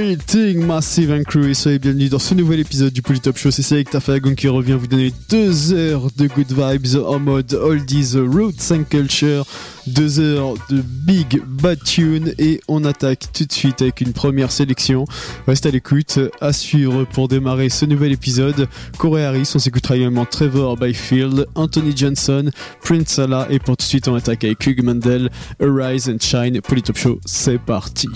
Greeting Massive and Crew et soyez bienvenus dans ce nouvel épisode du Polytop Show. C'est avec Tafagon qui revient vous donner 2 heures de good vibes en mode oldies, roots and culture, 2 heures de big bad tune et on attaque tout de suite avec une première sélection. Reste à l'écoute, à suivre pour démarrer ce nouvel épisode. Corey Harris, on s'écoutera également Trevor Byfield, Anthony Johnson, Prince Salah et pour tout de suite on attaque avec Hugh Mandel, Arise and Shine. Polytop Show, c'est parti.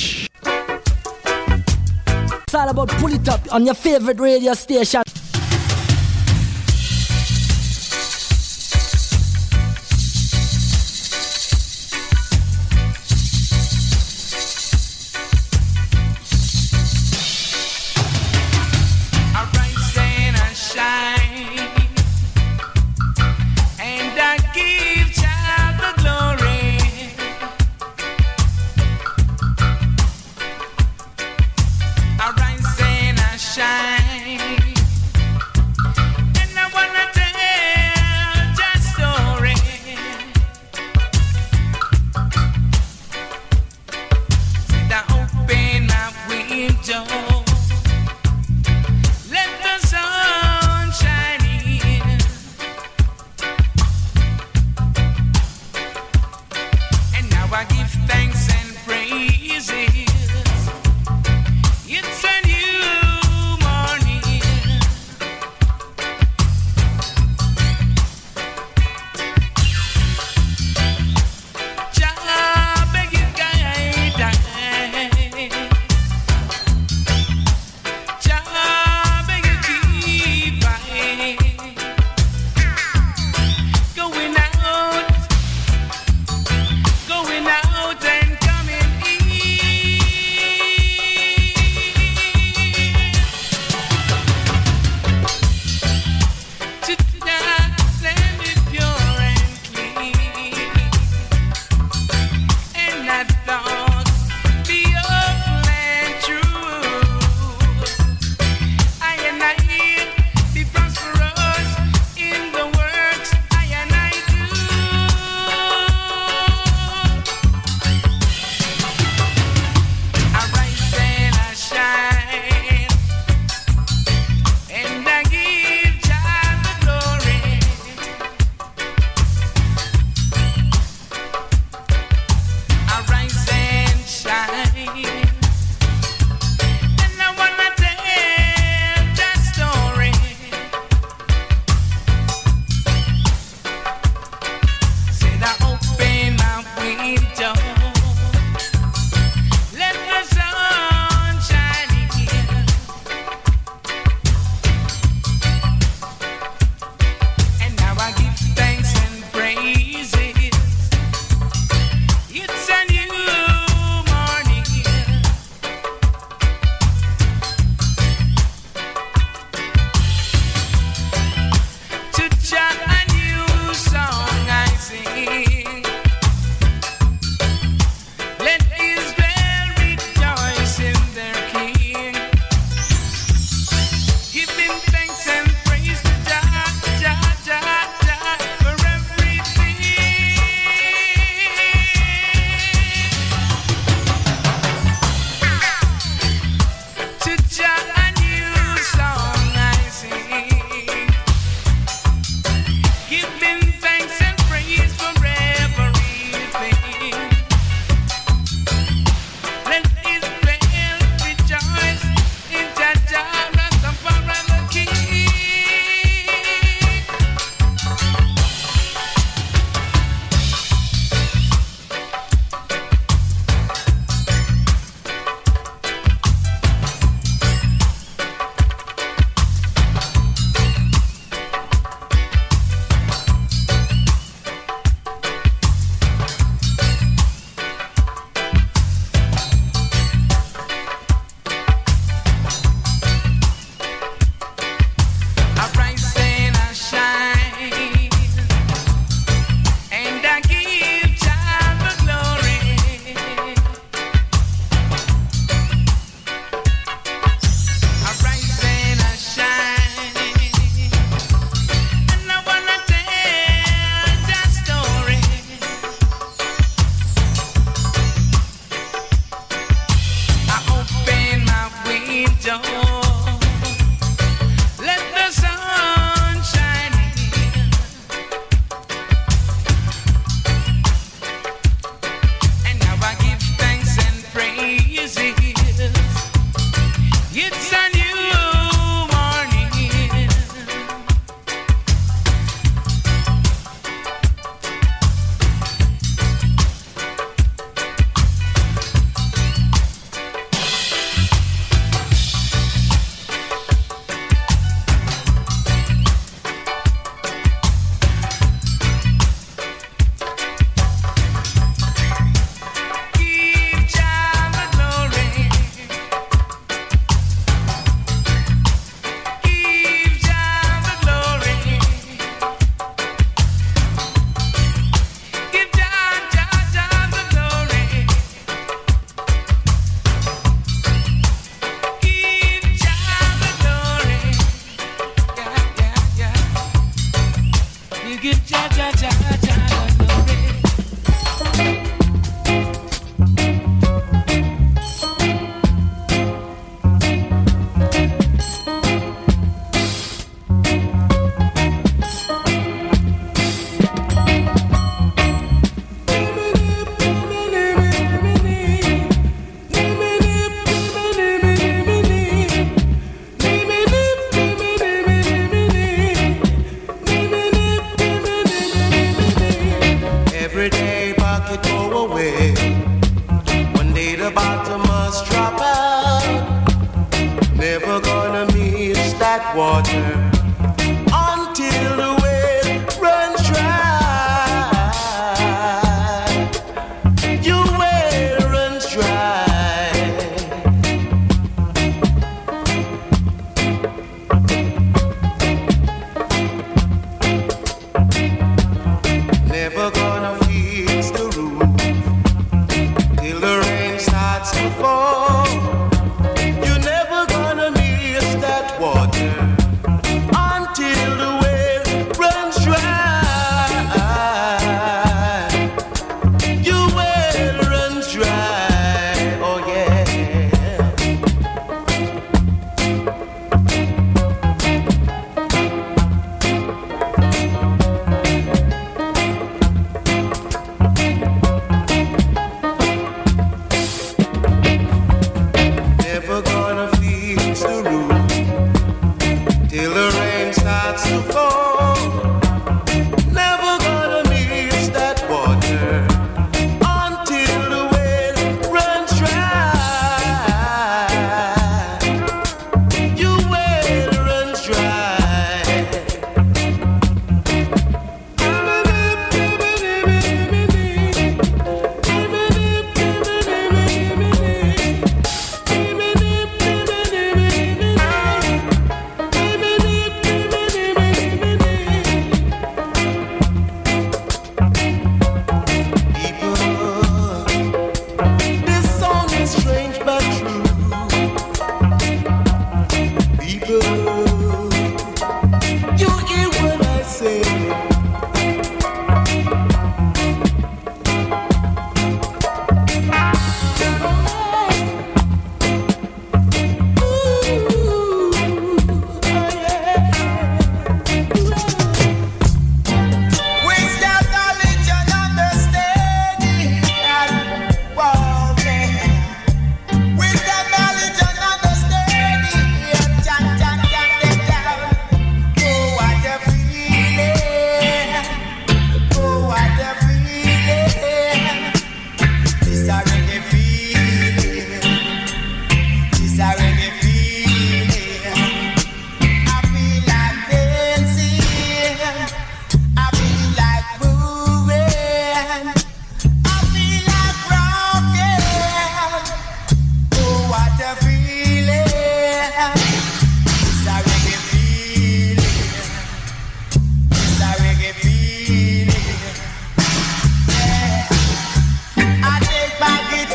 It's all about Pull It Up on your favorite radio station. Going out and coming in.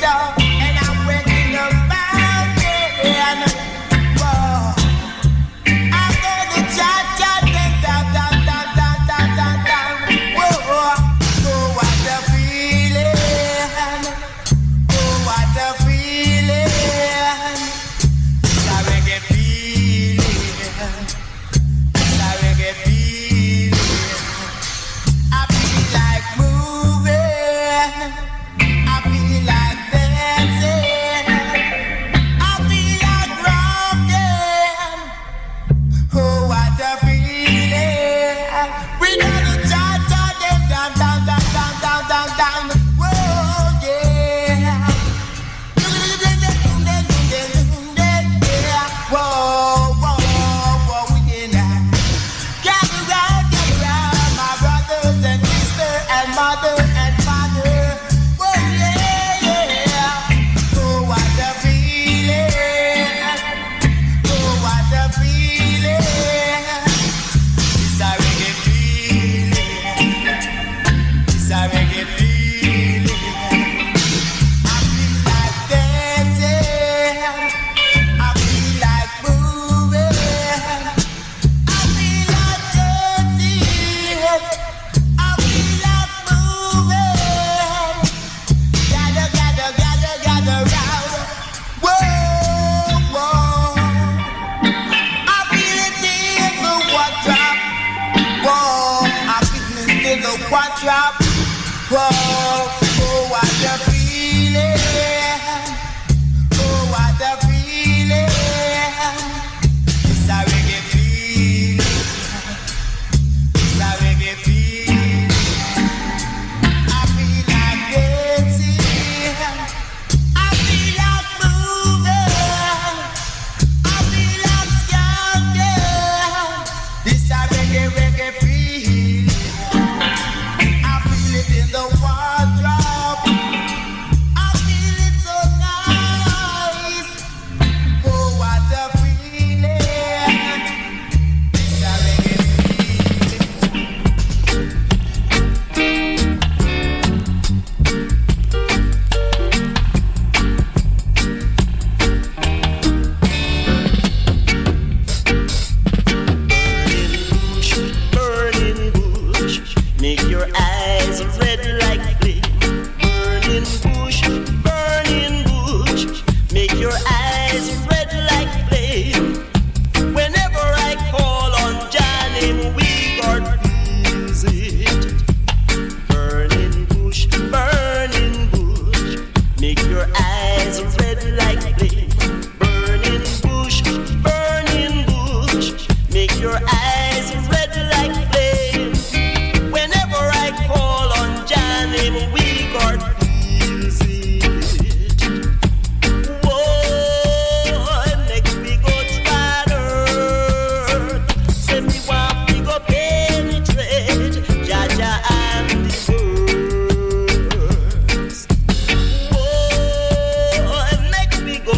go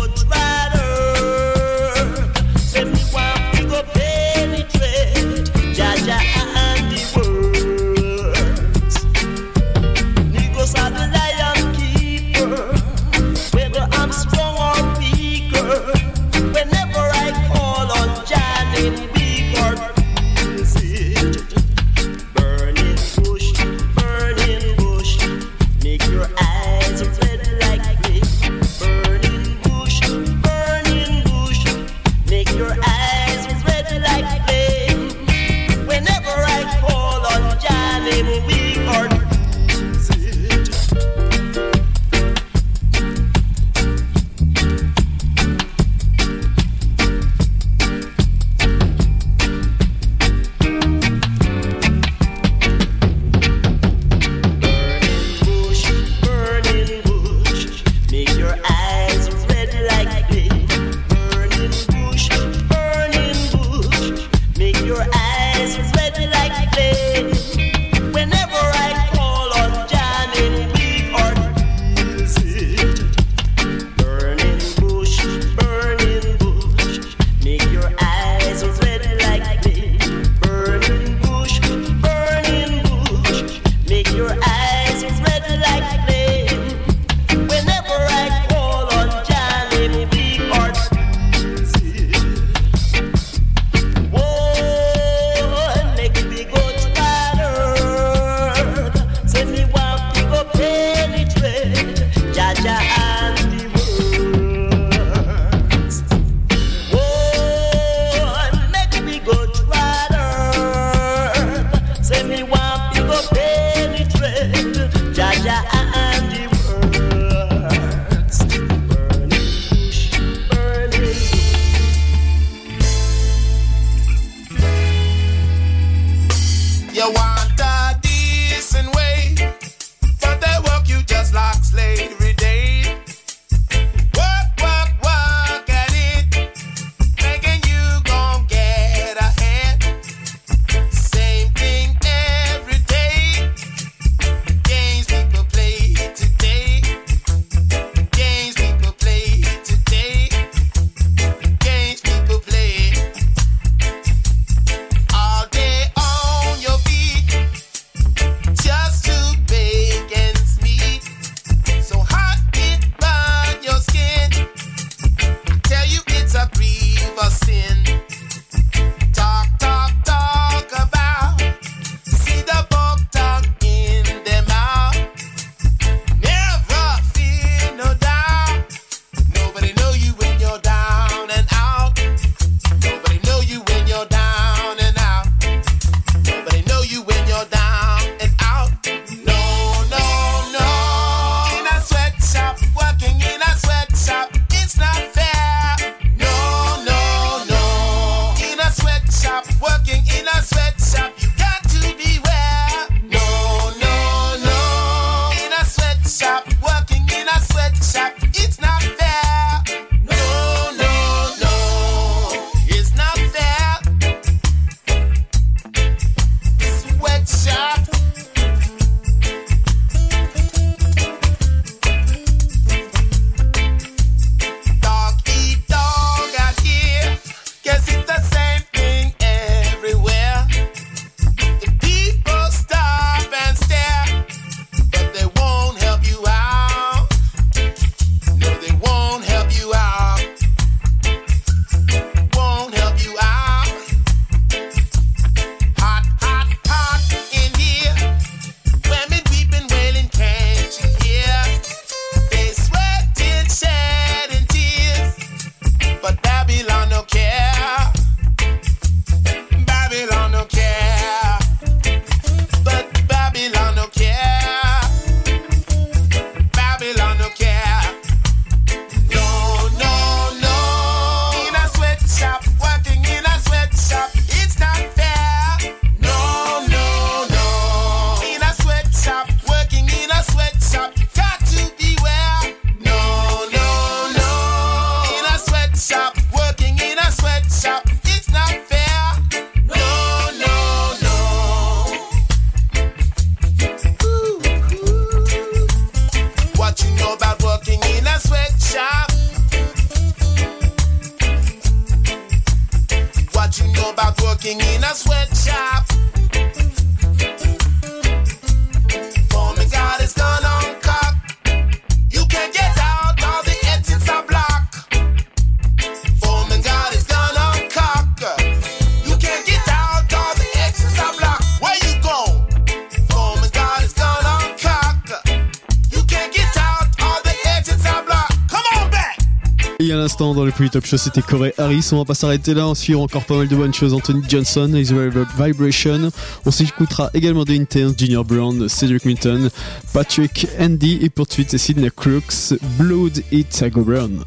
à l'instant dans le Polytop Show, c'était Corey Harris. On va pas s'arrêter là, on suivra encore pas mal de bonnes choses. Anthony Johnson, Israel Vibration. On s'écoutera également The Interns, Junior Brown, Cedric Minton, Patrick Andy et pour de suite c'est Sydney Crooks, Blood It Go Brown.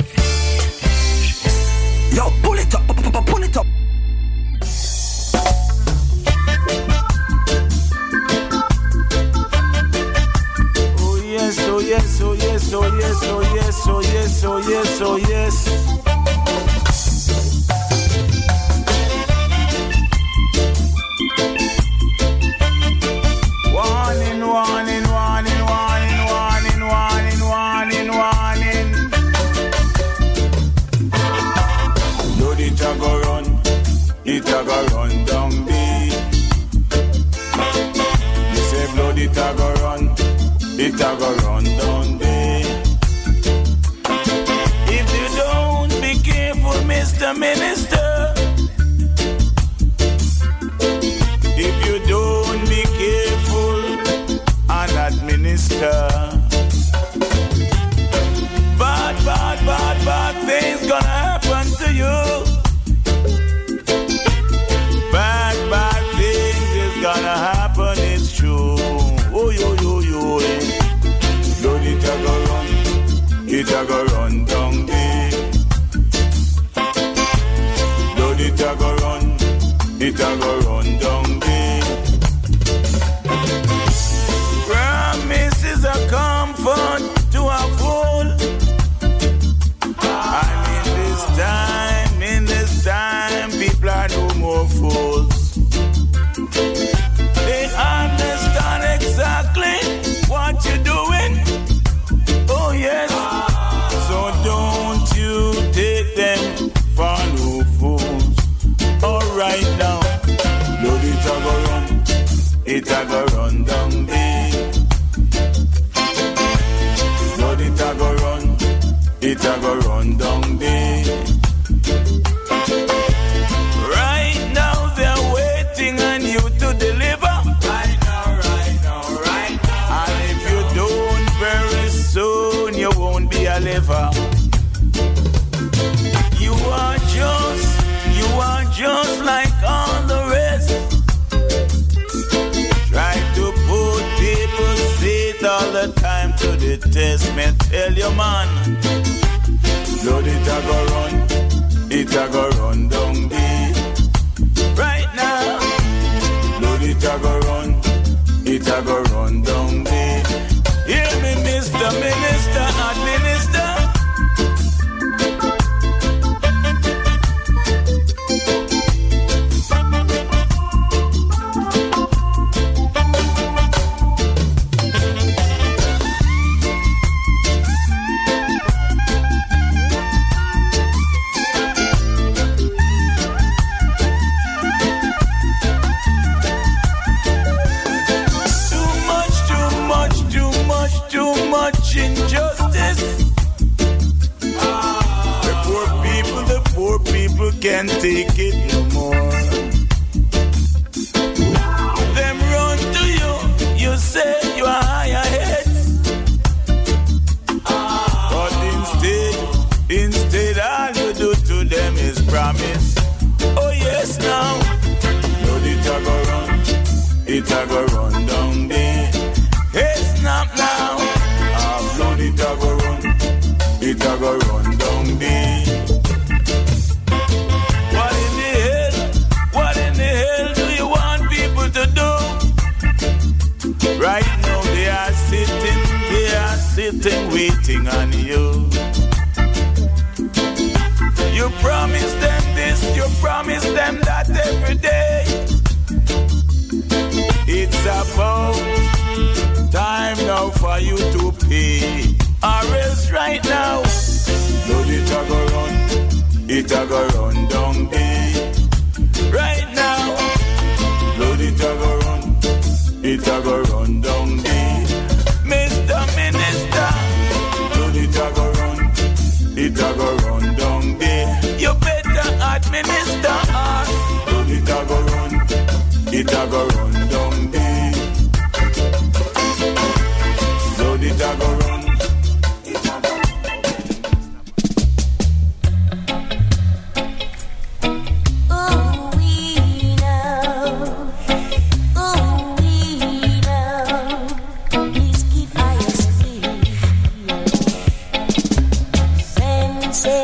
Yo, pull it up, pull it up. Oh yes, oh yes, oh yes, oh yes, oh yes, oh yes, oh yes, oh yes. Warning, warning, warning, warning, warning, warning, warning, warning. Load it a go run down deep. You say blood it a go run down deep. If you don't be careful, Mr. Minister. If you don't be careful and administer, bad things gonna happen to you. Bad things is gonna happen, it's true. Oh, yo. Load it a go run down deep. Load it a go run down deep. Promises are comfort to a fool. And in this time, people are no more fools. They understand exactly what you're doing. Oh yes. So don't you take them for no fools. Alright now. Load it a go run down deep. Load it a go run down deep. Right now they're waiting on you to deliver. Right now. And if you don't, very soon you won't be a liver. You are just like all the rest. Try to put people's faith all the time to the test. Me tell you, man. Load it a go run down deep. Right now. Load it a go run down deep. Hear me, Mr. Minister, Administer. Injustice. The poor people can't take it no more. Them run to you say you are higher heads. But instead all you do to them is promise. Oh yes now. Load it a go run down there. Hey snap now. It a go run down deep. What in the hell do you want people to do? Right now they are sitting waiting on you. You promise them this, you promise them that every day. It's about time now for you to pay. Or else right now, load it a go run down deep. Right now, load it a go run down deep. Mr. Minister, load it a go run down deep. You better administer us. Load it a go run down deep. Load it a go run. Sensei,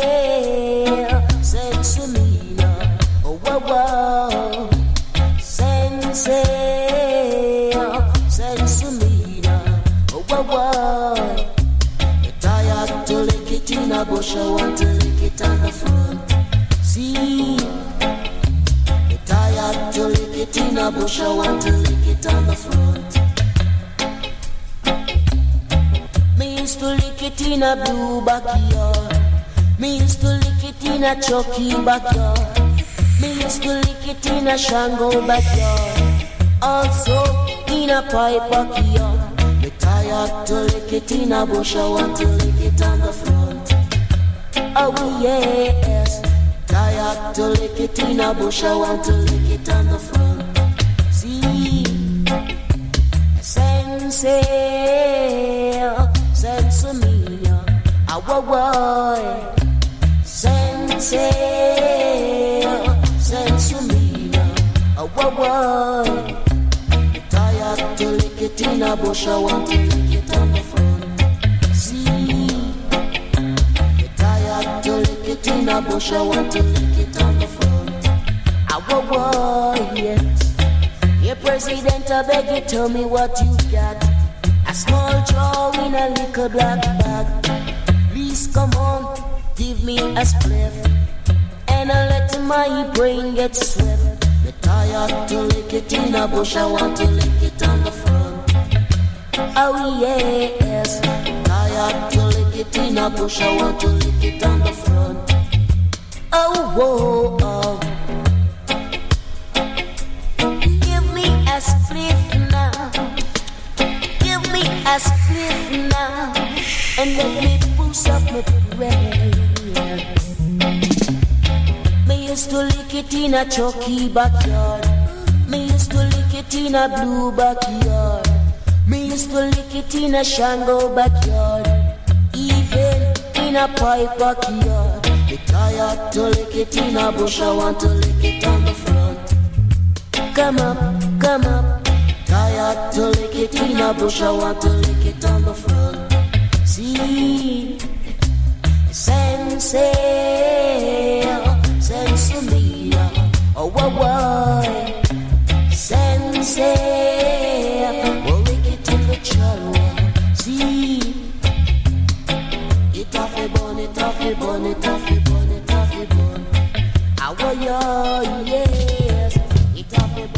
Sensumina, oh wow wow. Sensei, Sensumina, oh wow wow. You're tired to lick it in a bush, I want to lick it on the front. See, you're tired to lick it in a bush, I want to lick it on the front. Me used to lick it in a blue backyard. Me used to lick it in a Chucky backyard. Me used to lick it in a Shango backyard. Also in a pipe backyard. Me tired to lick it in a bush, I want to lick it on the front. Oh yes, tired to lick it in a bush, I want to lick it on the front. See, Sensei, Sensumina, awawa. Sensei, Sensumina, awawa. Tired to lick it in a bush, I want to lick it on the front. See, tired to lick it in a bush, I want to lick it on the front. Awawa, yes. Hey, President, I beg you, tell me what you got. A small jar in a little black bag. Please come on, give me a spliff, and I let my brain get swift. Me tired to lick it in a bush, I want to lick it on the front. Oh yes, tired to lick it in a bush, I want to lick it on the front. Oh whoa, oh. Give me a spliff now. Give me a spliff now, and let me boost up my brain. Me used to lick it in a Chucky backyard. Me used to lick it in a blue backyard. Me used to lick it in a Shango backyard. Even in a pipe backyard. Me tired to lick it in a bush, I want to lick it on the front. Come up, come up. Tired to lick it in a bush, I want to lick it on the front. See, Sensei, Sensumina, oh wow wow. Sensei, we'll lick it in the chalwa. See, it off a bun, it off a bun, it off a bun, it off a bun. Ah wow yes, it off a bun, it off a bun.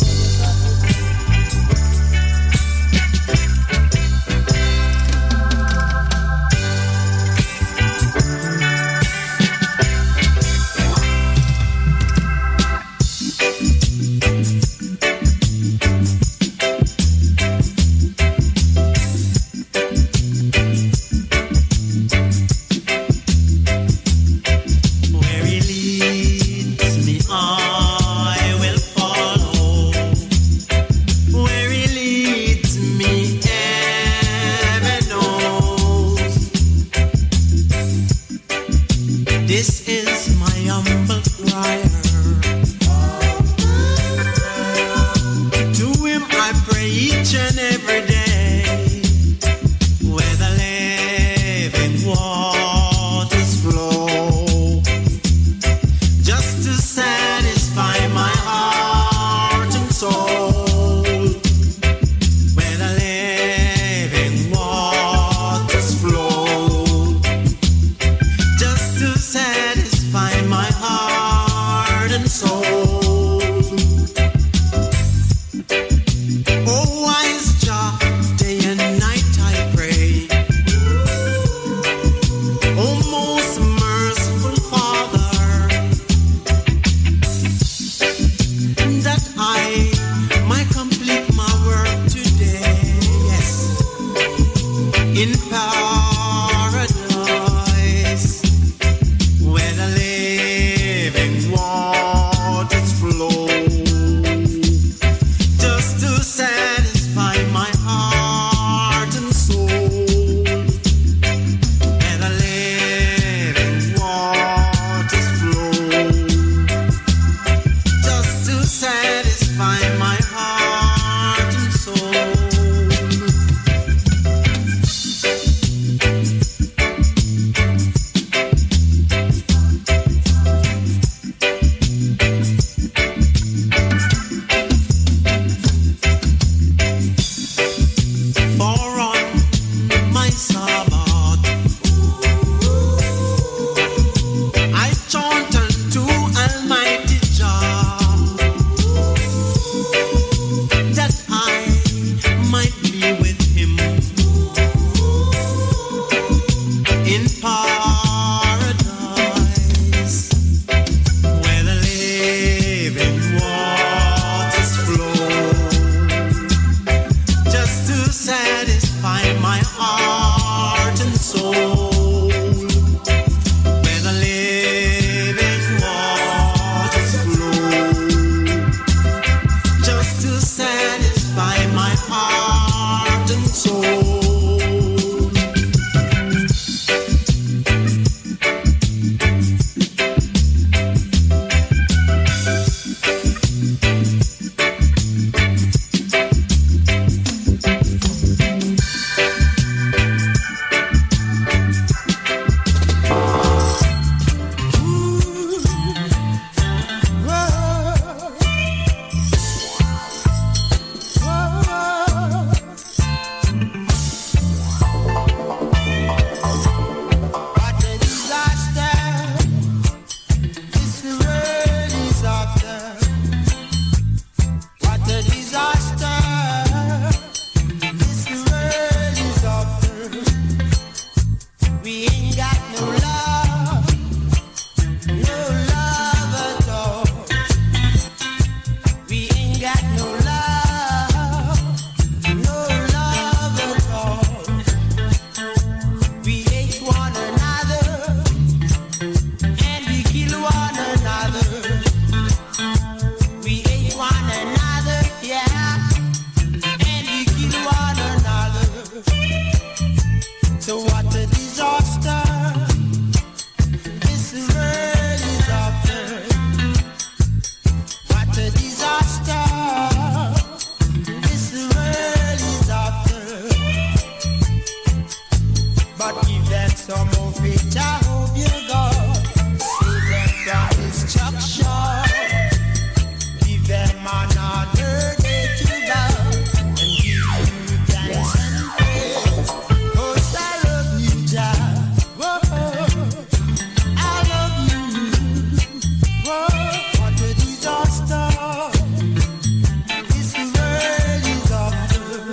some of it, I hope you God save them from destruction. Give them another day to go and give you thanks and praise. 'Cause I love you, Jah. Whoa, I love you. Whoa, what a disaster this world is after.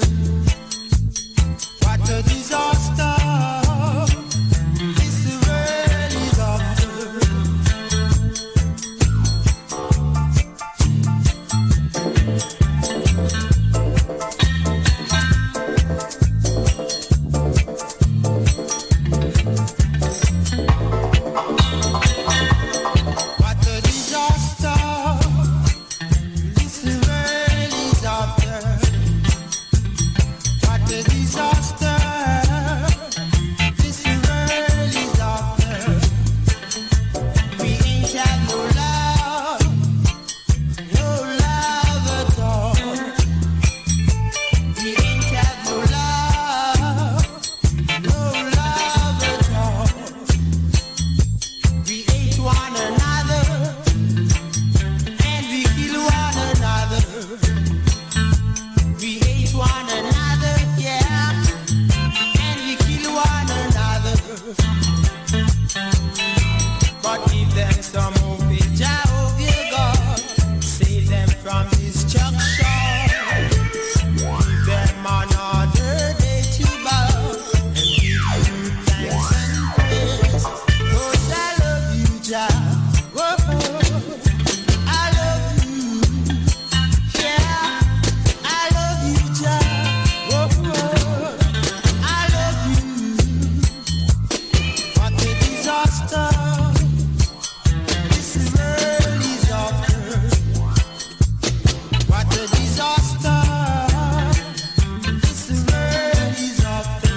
What a disaster this world is after. What a disaster this world is after. What a disaster this world is after. We ain't had no love at all. We ain't had no love at all. We hate one another and we kill one another. We hate one another, yeah, and we kill one another. But give them some hope, Jah, hope you God save them from destruction. Give them another day to bow and give you thanks and praise. 'Cause I love you, Jah. Whoa, I love you. Yeah, I love you, Jah. Whoa, I love you. What a disaster this world is after. What a disaster this world is after.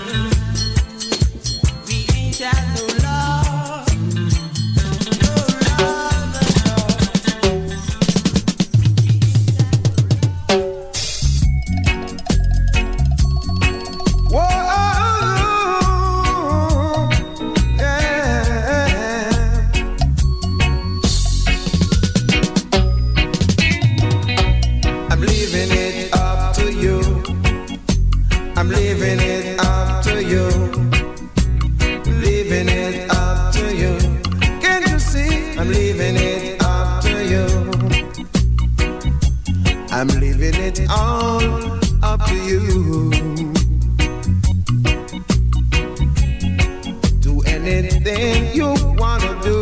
We ain't had no love at all. Whoa, yeah. I'm leaving it up to you. I'm leaving it up to you. Leaving it up to you. Can't you see? I'm leaving it up to you. I'm leaving it all up to you. Do anything you wanna do.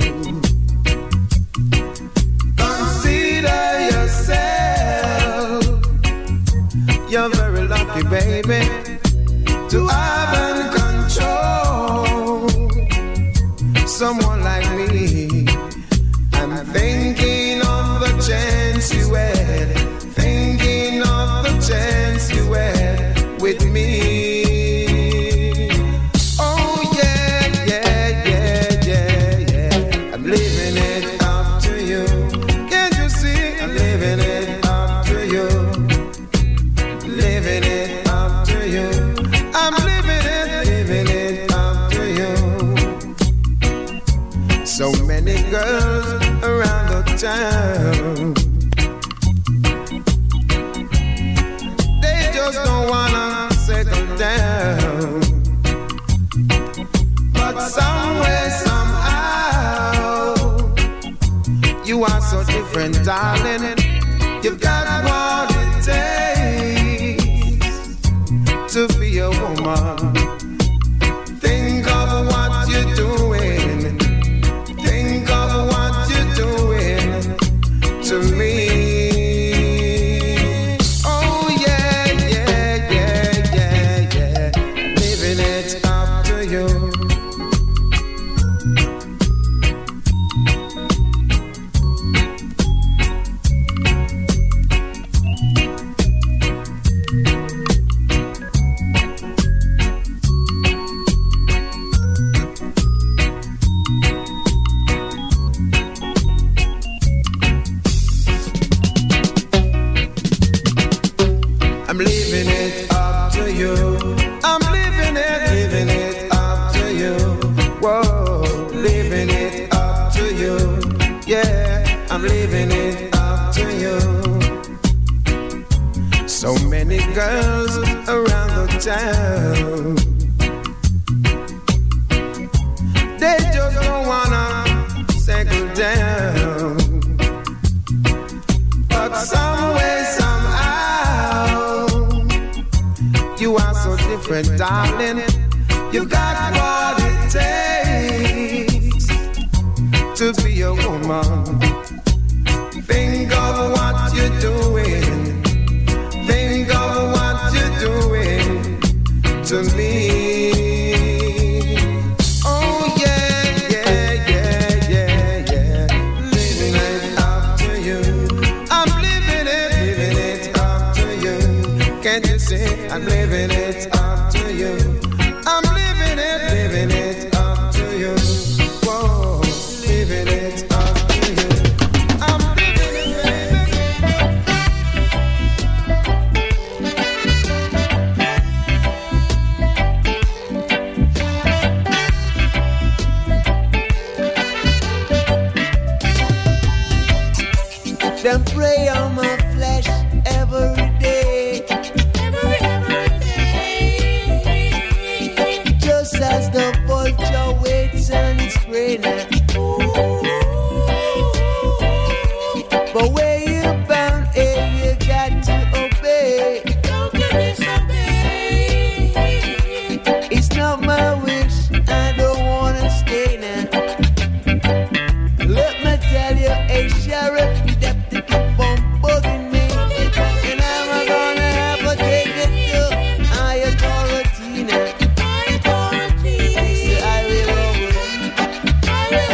Consider yourself. You're very lucky, baby, to have and control someone like me. I'm thinking of the chance you had, thinking of the chance you had with me. Oh yeah, yeah, yeah, yeah, yeah. I'm leaving it up to you. Can't you see? I'm leaving it up to you. Living it up to you. I'm living it up to you. So many girls around the town, they just don't wanna settle down. But somewhere, somehow, you are so different, darling. You've got what it takes to be a woman. Think of what you're doing. Think of what you're doing to me. Oh yeah, yeah, yeah, yeah, yeah. Living it up to you. Whoa, leaving it up to you. Yeah, I'm leaving it up to you. So many girls around the town, they just don't wanna settle down. But some way, somehow, you are so different, darling. You got what it takes to be a woman. Think of what you're doing. Think of what you're doing to me. Oh yeah, yeah, yeah, yeah, yeah. Living it up to you. I'm living it up to you. Can't you see? I'm living it up to you. I'm living it up to you. Whoa, living it up to you. I'm living it, Them prey on my flesh every day. Just as the vulture waits and is praying. But where you bound, you got to obey. It's not my wish, I don't wanna stay now. Let me tell you, hey sheriff, you have to keep on bugging me. And I'm gonna have to take it to higher authority now. I will overeat.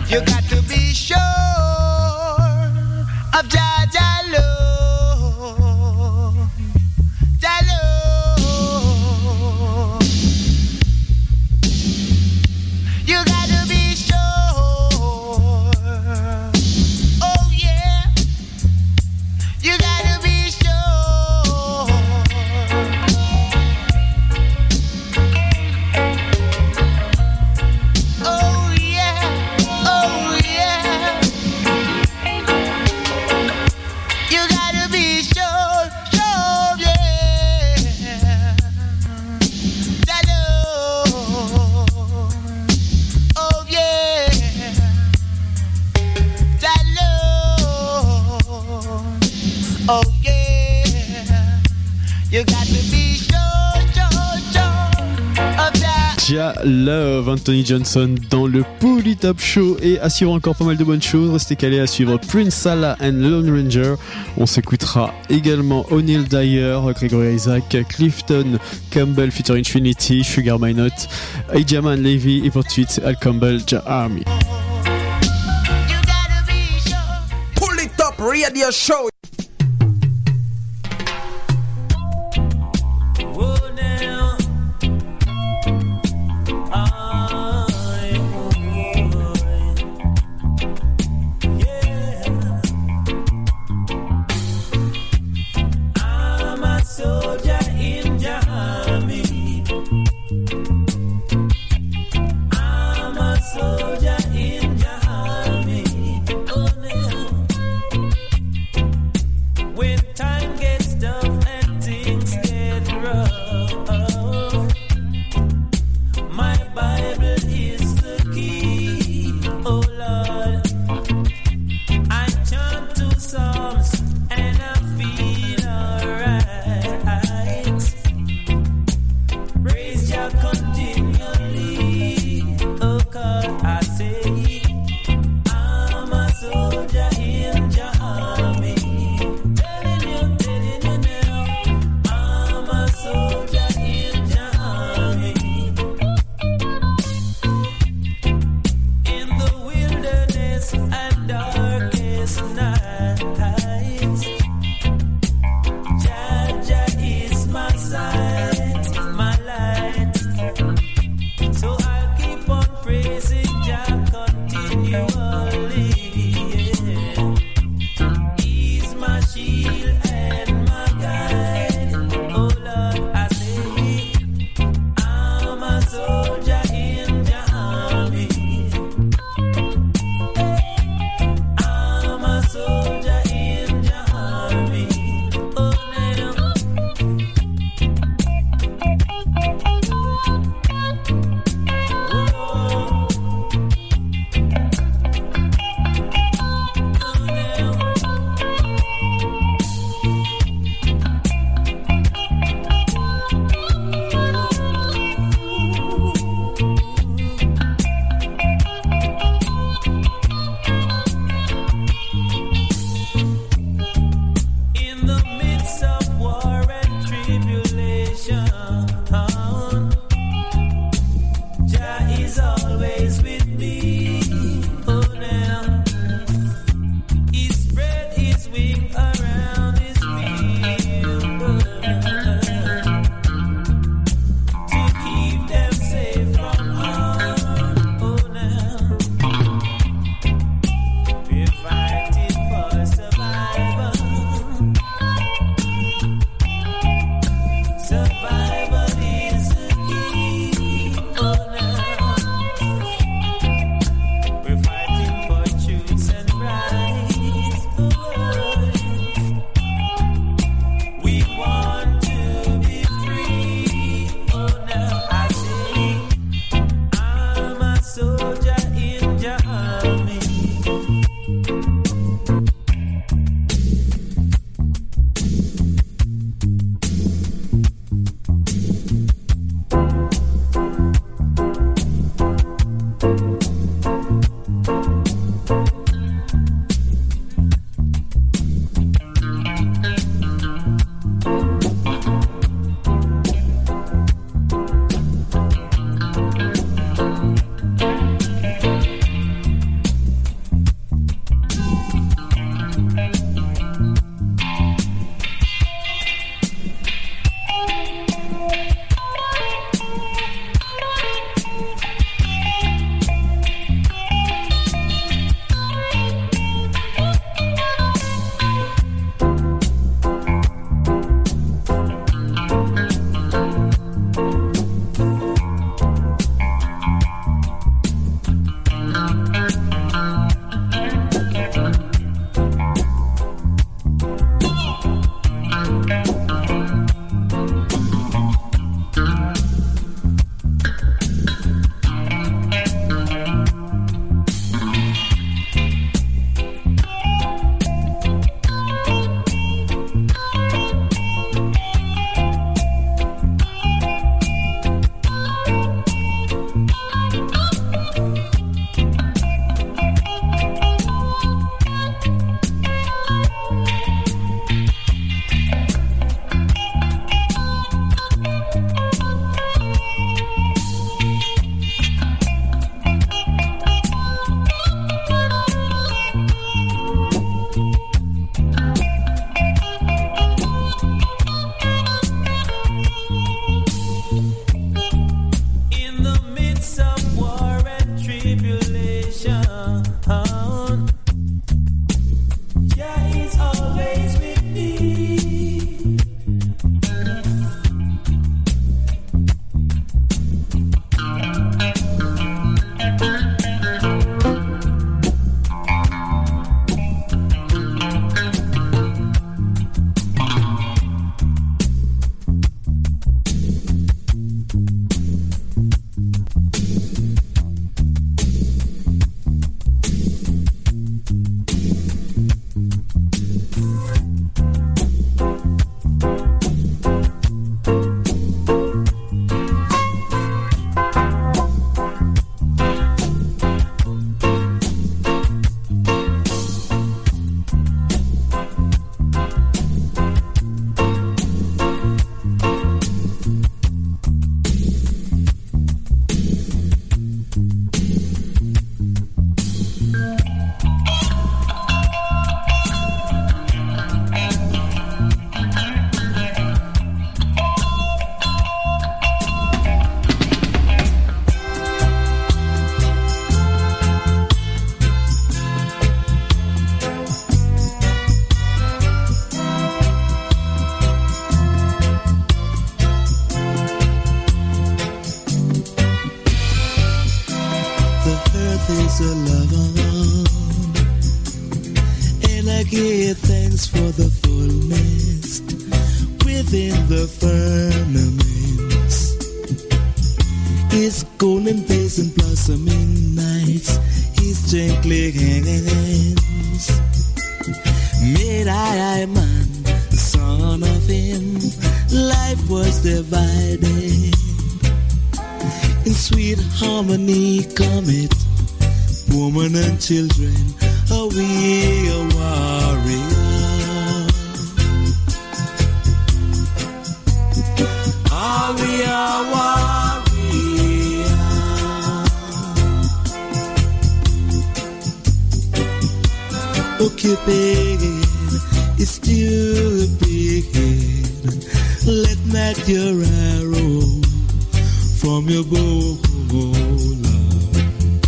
You got to be sure of Jah Jah love, Jah love. You got to be sure. Oh yeah. You got to be sure. Oh yeah. Oh yeah. You got to be sure. Sure, yeah. That love. Oh yeah. That love. Oh yeah. You got to be sure, sure, sure of that. Jah Love, Anthony Johnson dans le Pouli Top Show. Et à suivre encore pas mal de bonnes choses. Restez calés à suivre Prince Salah and Lone Ranger. On s'écoutera également O'Neil Dyer, Gregory Isaac, Clifton Campbell featuring Trinity, Sugar Minot, Ajaman Levy et pour tout de suite Al Campbell, Jah Army. You gotta be sure. Pull it up, radio show. Oh, now. Yeah. I'm a soldier in Jah Army. I'm a soldier in Jah Army. Oh, now. I give thanks for the fullness within the firmaments. His golden face and blossoming nights, his gently hands. Made I man, son of him, life was divided. In sweet harmony come it, woman and children, are we a warrior? Are we a warrior? Oh Cupid, it's stupid. Let not your arrow from your bow, love.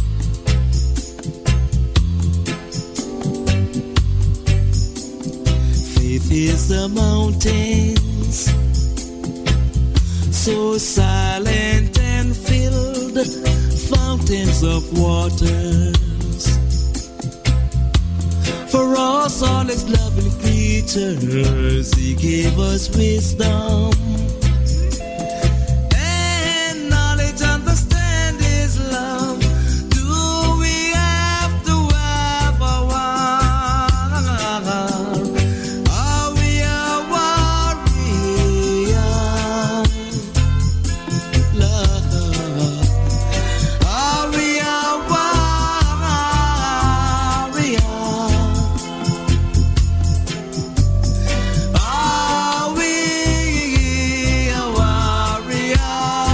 Faith is the mountains, so silent and filled, fountains of waters. For us, all his loving creatures, he gave us wisdom. And knowledge, understand his love. Do we have to have a war? Are we a warrior? Love. Are we a warrior? Are we a warrior?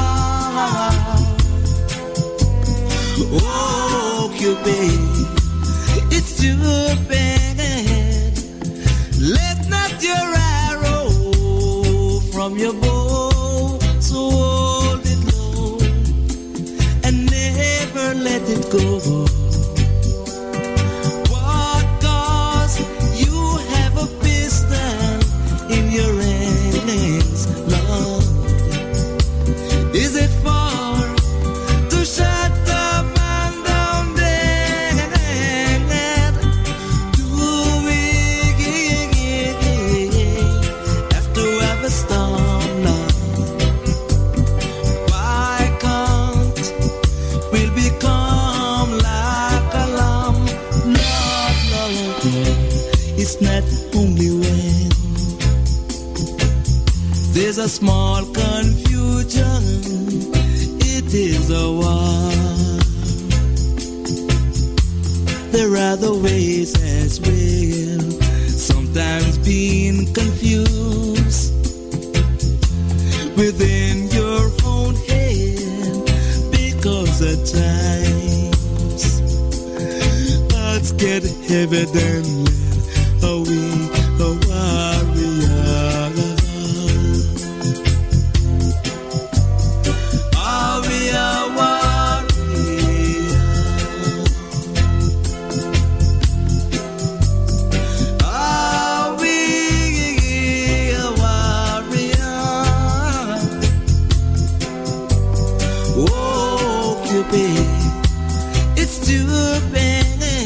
Oh, Cupid, it's too bad. Let not your arrow from your bow, so hold it low and never let it go. What cause you have a pistol in your hands, Lord? Is it for to shut the man down dead? Do we have to have a storm, Lord? Why can't we become like a lamb? Lord, Lord, it's not only when there's a small confusion, it is a war. There are other ways as well, sometimes being confused within your own head, because at times thoughts get heavy than lead. Are we a warrior? Are we a warrior? Are we a warrior? Oh, Cupid, it's too bad.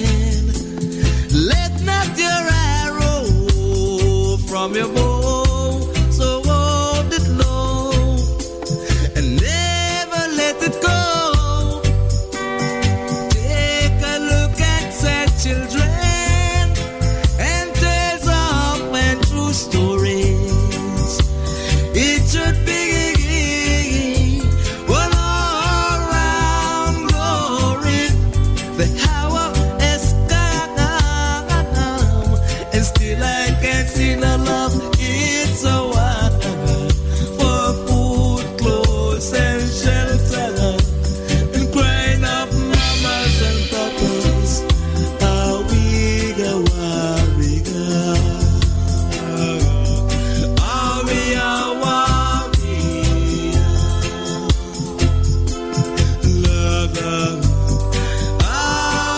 Let not your arrow from your bow, so hold it low and never let it go. Take a look at sad children and tales of and true stories. It should be one all-round glory. The hour has come, and still I can't see no love. It's a war for food, clothes, and shelter, and crying of mamas and papas. Are we a warrior? Are we a warrior? Love. Are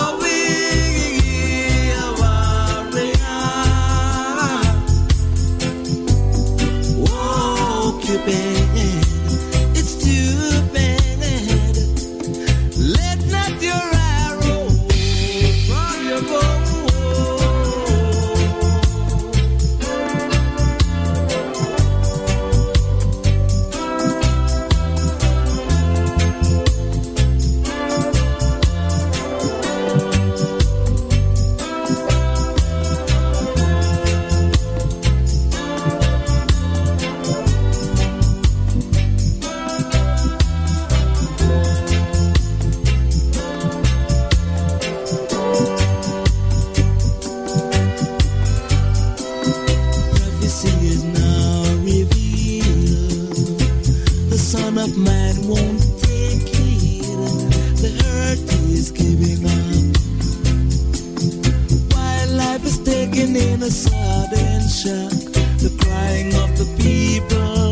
in a sudden shock, the crying of the people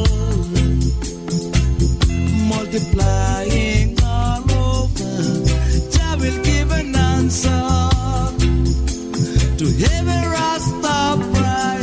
multiplying all over. Jah will give an answer to every Rastafari.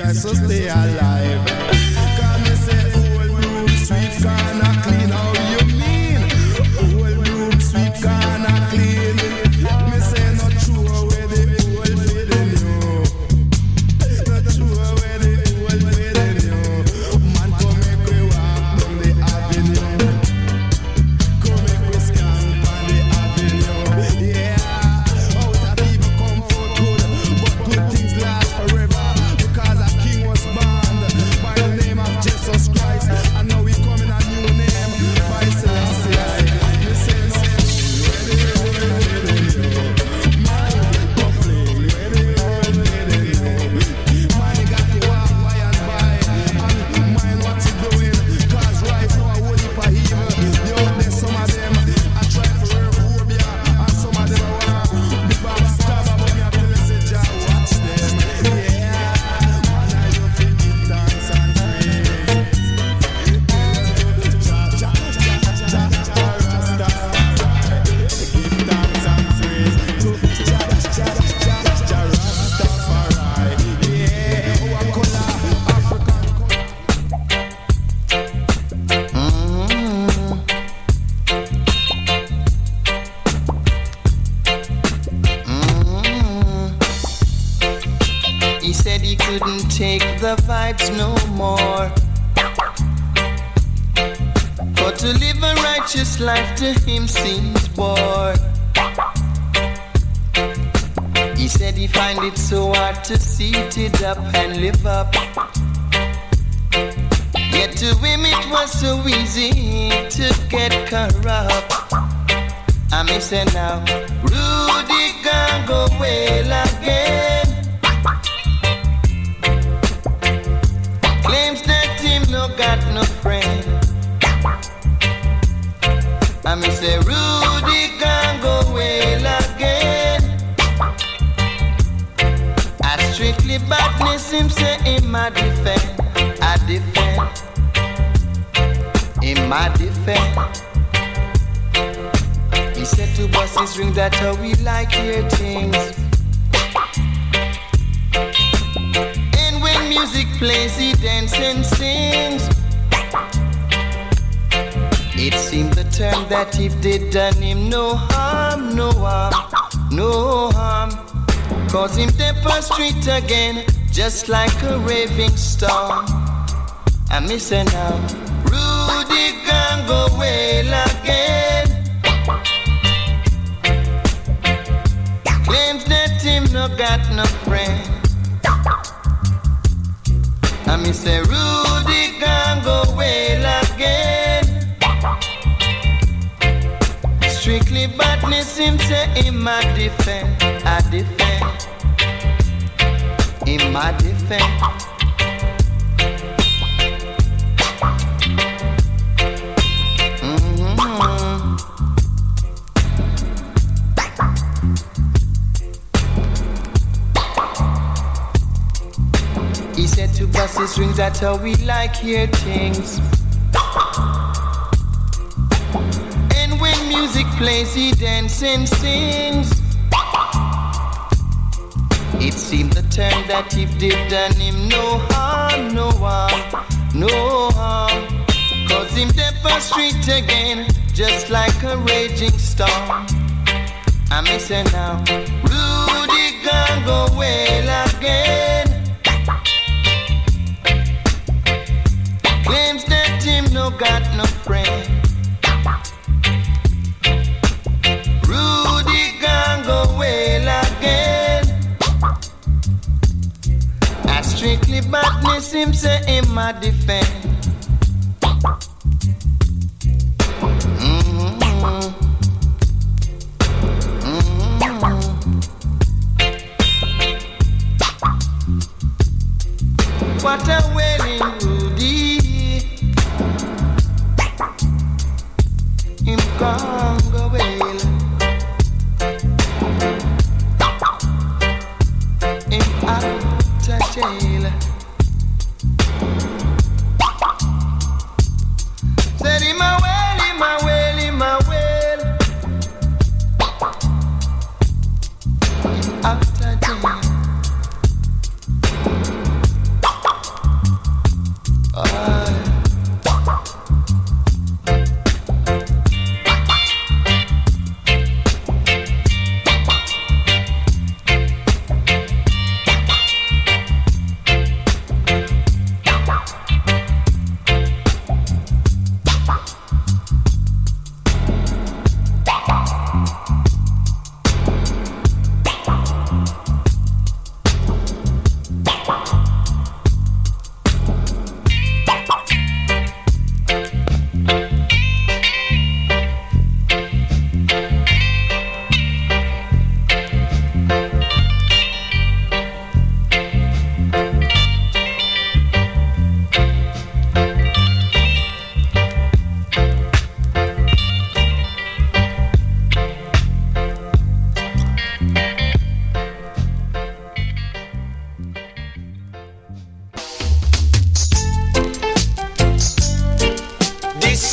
try to stay alive. Cause me say old broom sweet corner clean. How you mean? Old broom sweet corner clean. Me say not true where the old feeding you. Not true where the old feeding you. Man come make we walk down the avenue. Come make we scan on the avenue. Yeah, out of people come for good, but good things last forever. Because a king was born by the name of Jesus Christ, and now we come in a new name by Celestia. You say no, where the world leading you? Man, go fling, where the world leading you? Man, you got to walk by and by, and mind what you doing. Cause right now I won't heap of evil. The out there, some of them I try to wear phobia, and some of them I want the backstabber, but me I tell you say Jah watch them. Yeah, man, I you feel give thanks and praise. Jah, Jah, Jah, Jah, Jah, Rastafari. Give thanks and praise to Jah, Jah, Jah, Jah, Rastafari. Yeah, oh, I call African. He said he couldn't take the vibes no more. For to live a righteous life to him seems bore. He said he find it so hard to seat it up and live up. Yet to him it was so easy to get corrupt. I may say now, Rudy can go well again. Claims that him no got no friend. I may say Rudy can go well again. I strictly badness him say in my defense. I defend. In my defense. He said to bust his ring, that's how we like hear things. And when music plays, he dances and sings. It seemed the term that if they done him no harm, no harm, no harm. Cause him step on street again, just like a raving storm. I miss her now. Rudy can go well again. Claims that him no got no friend. I miss say Rudy can go well again. Strictly badness him say in my defense. I defend. In my defense. He said to bust his rings, that's how we like hear things. And when music plays, he dances and sings. It seemed the term that if they've done him no harm, no harm, no harm. Cause him deep on street again, just like a raging storm. I miss her now. Rudy can go well again. Claims that him no got no friend. Rudy can go well again. I strictly badness him say in my defense. What a wailing Rudy. Him can't go well. Him out of jail. Said him a well, him a well, him a well. Him out of jail.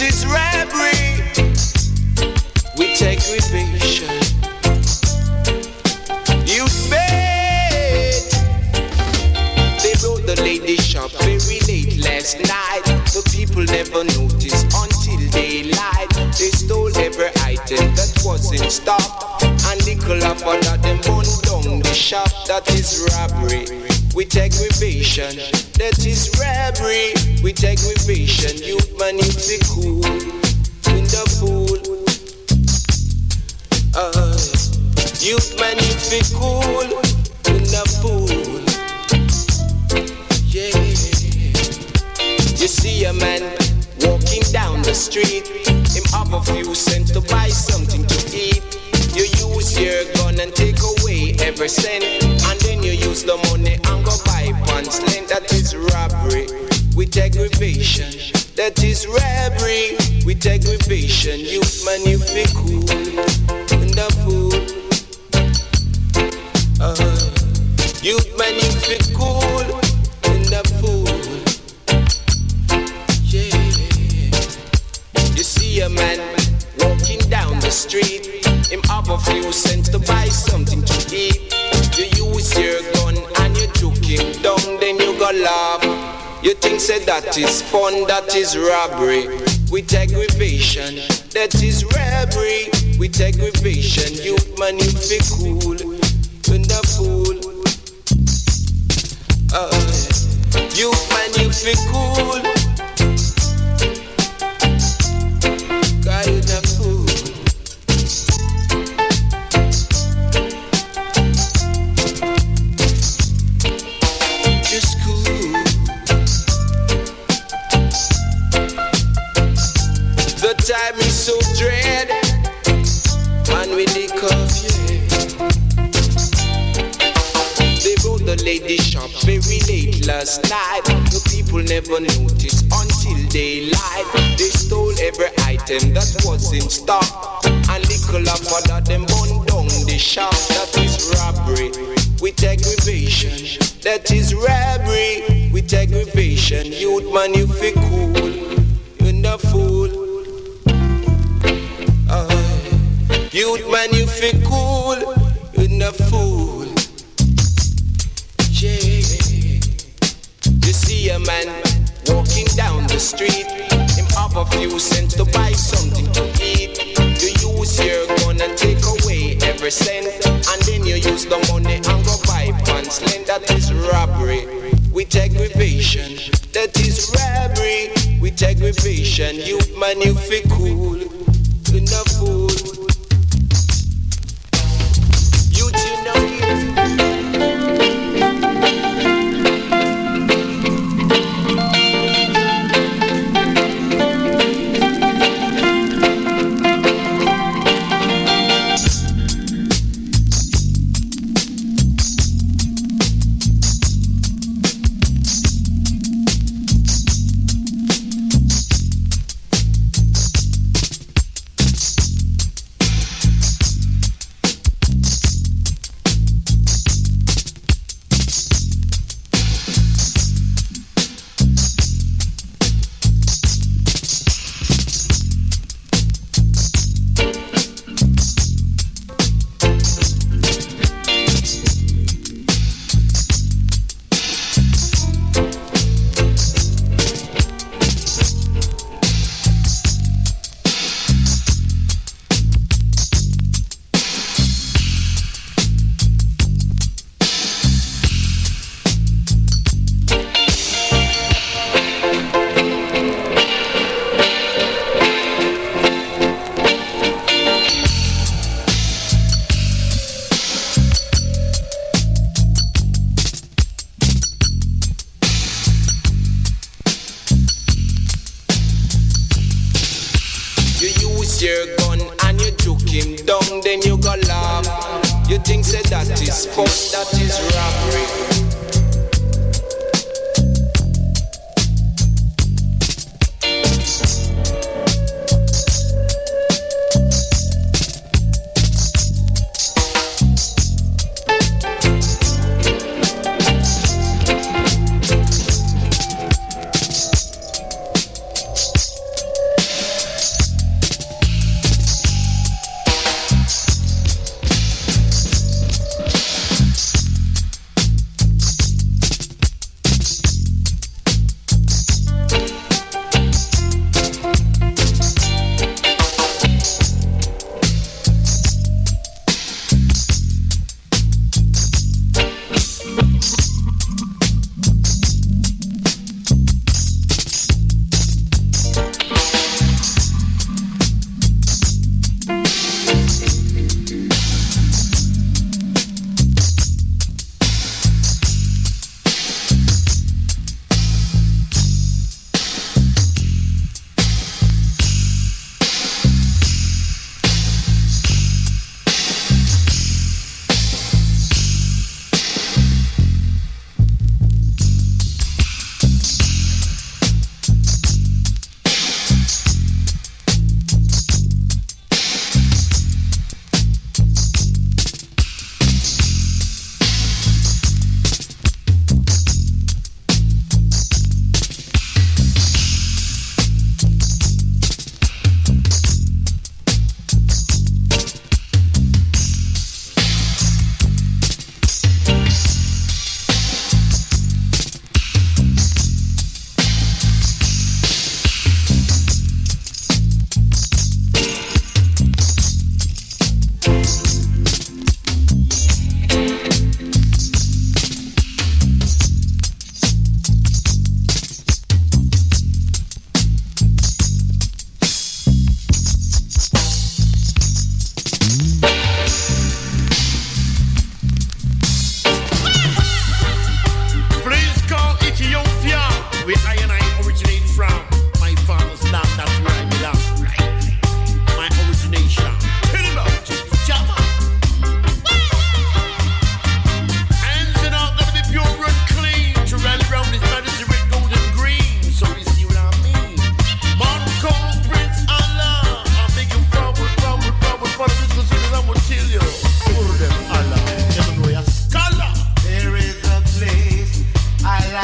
is robbery with aggravation. Youth bait. They broke the lady shop very late last night. The people never noticed until daylight. They stole every item that was in stock, and nickel up under them bun down the shop. That is robbery with aggravation. That is robbery with aggravation. Youth man, you be cool in the fool. Youth man, you be cool in the fool. Yeah. You see a man walking down the street, him have a few cents to buy something to eat. You use your gun and take away every cent, and then you use the money and go buy pants length. That is robbery with aggravation. That is robbery with aggravation. Youth man, you be cool in the fool. Youth man, you be cool in the fool. Yeah. You see a man walking down the street, him have a few cents to buy something to eat. You use your gun and you juke him down, then you go laugh. You think say that is fun, that is robbery with aggravation. That is robbery with aggravation. Youth man, you be cool in the fool. Youth man, you be cool. God, you the fool. Just cool. The time is so dread, and we lick off, yeah. They broke the lady shop very late last night. The people never noticed until daylight. They stole every item that was in stock, and nickel up under them bun down the shop. That is robbery with aggravation. That is robbery with aggravation. Youth man, you feel cool, you're the fool. Youth man, you feel cool, you're the fool. Yeah. You see a man walking down the street, him have a few cents to buy something to eat. You use your gun and take away every cent, and then you use the money and go buy pants length. That is robbery with aggravation. That is robbery with aggravation. Youth man, you feel cool in the fool. Youth, you know you. your gun and you juke him down, then you go laugh. You think say that is fun, that is robbery.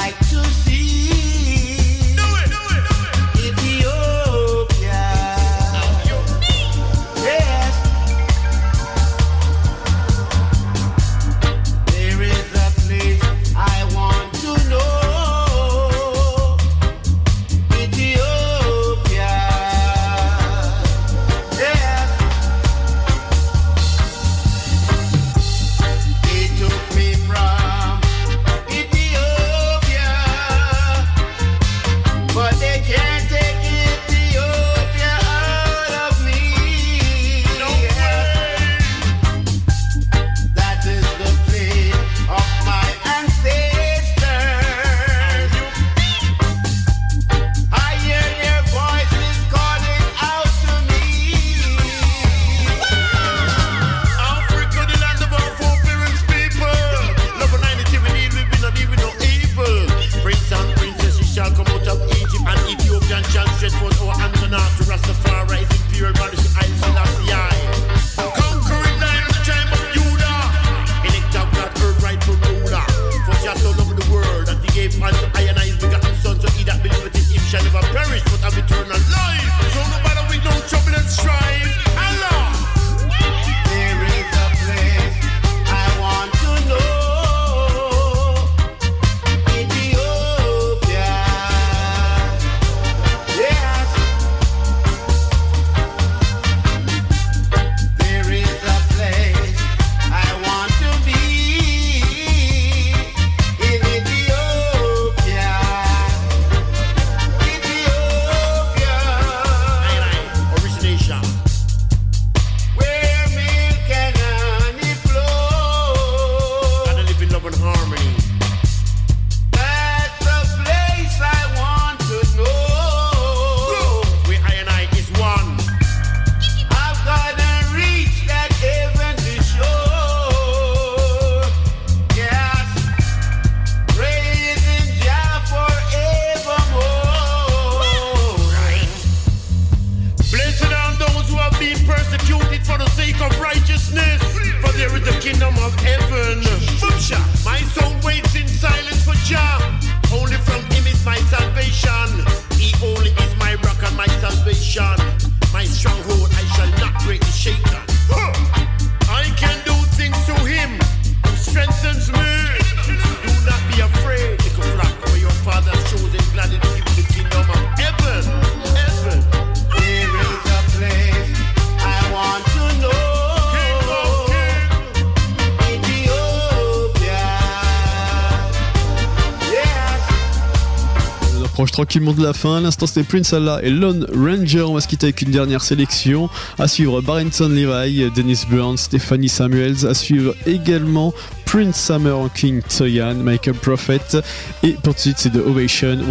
Tranquillement de la fin, à l'instant c'était Prince Allah et Lone Ranger. On va se quitter avec une dernière sélection. À suivre Barrington Levy, Dennis Brown, Stephanie Samuels. À suivre également Prince Summer, King Toyan, Michael Prophet. Et pour tout de suite c'est The Ovation.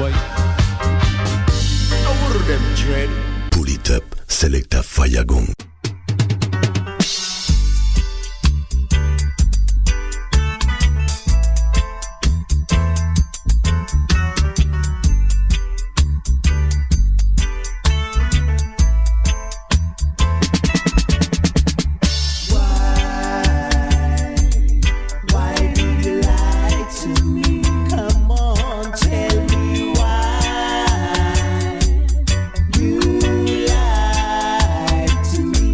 Pull it up, Selecta Fayagong. To me.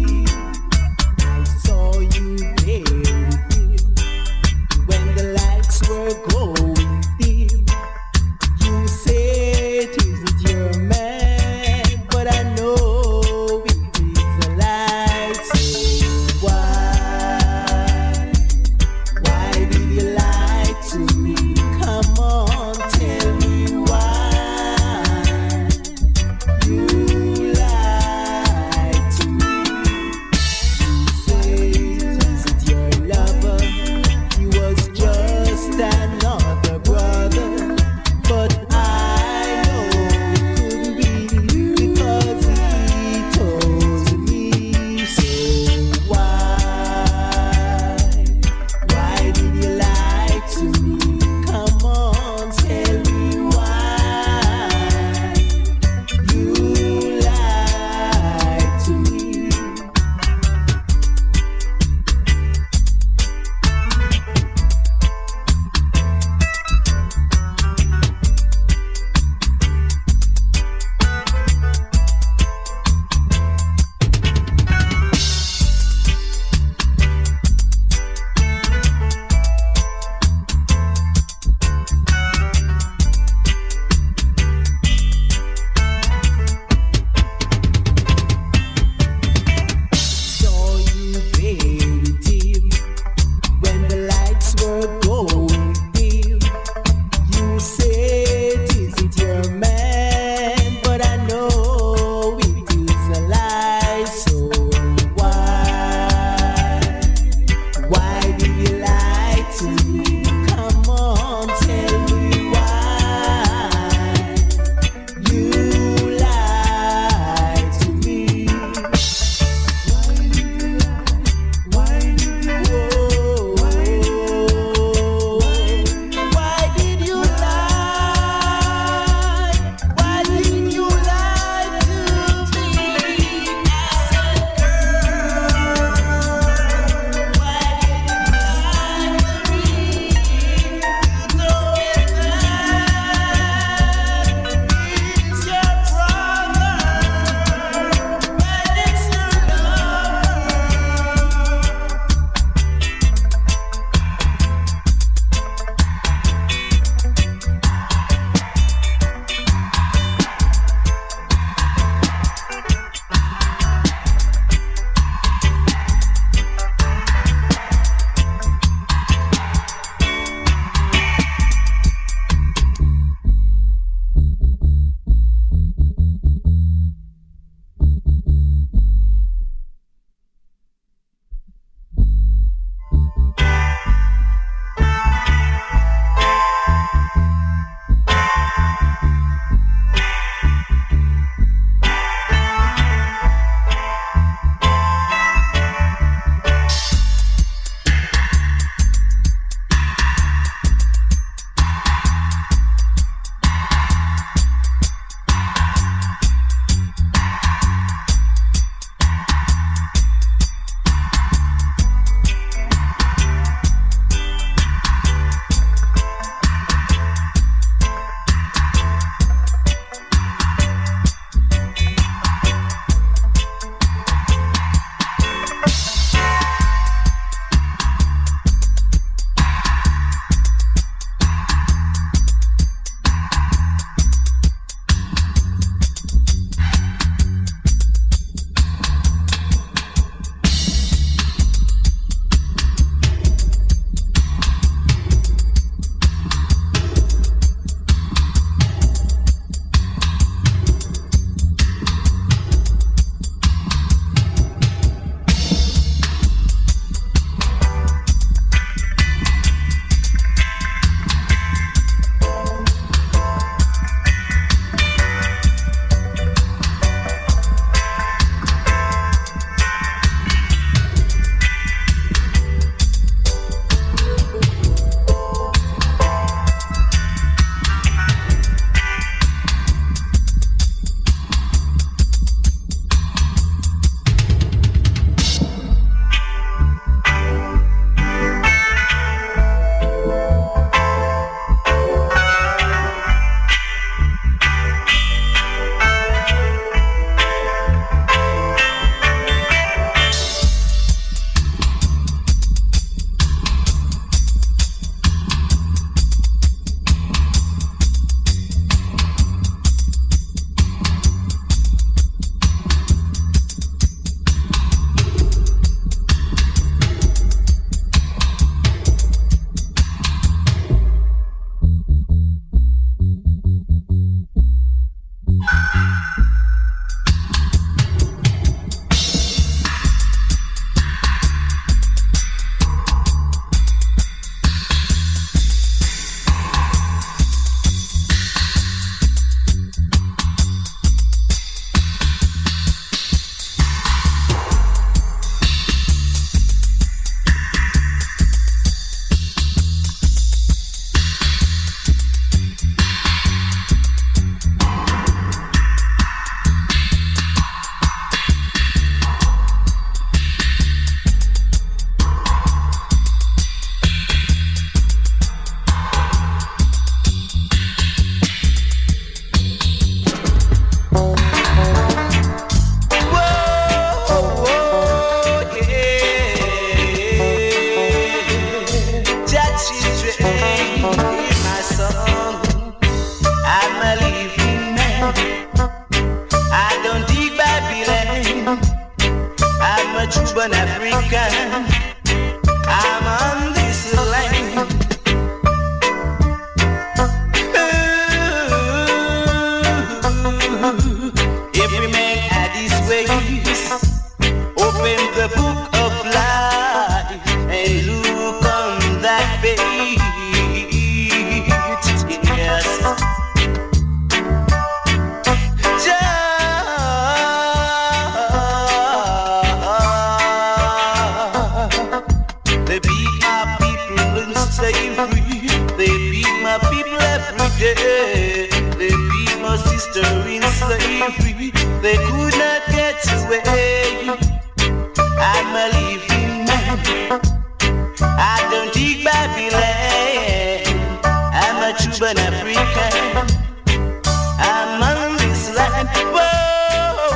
yeah. They beat my sister in slavery. They could not get away. I'm a living man. I don't dig Babylon. I'm a Cuban African. I'm on this land. Whoa,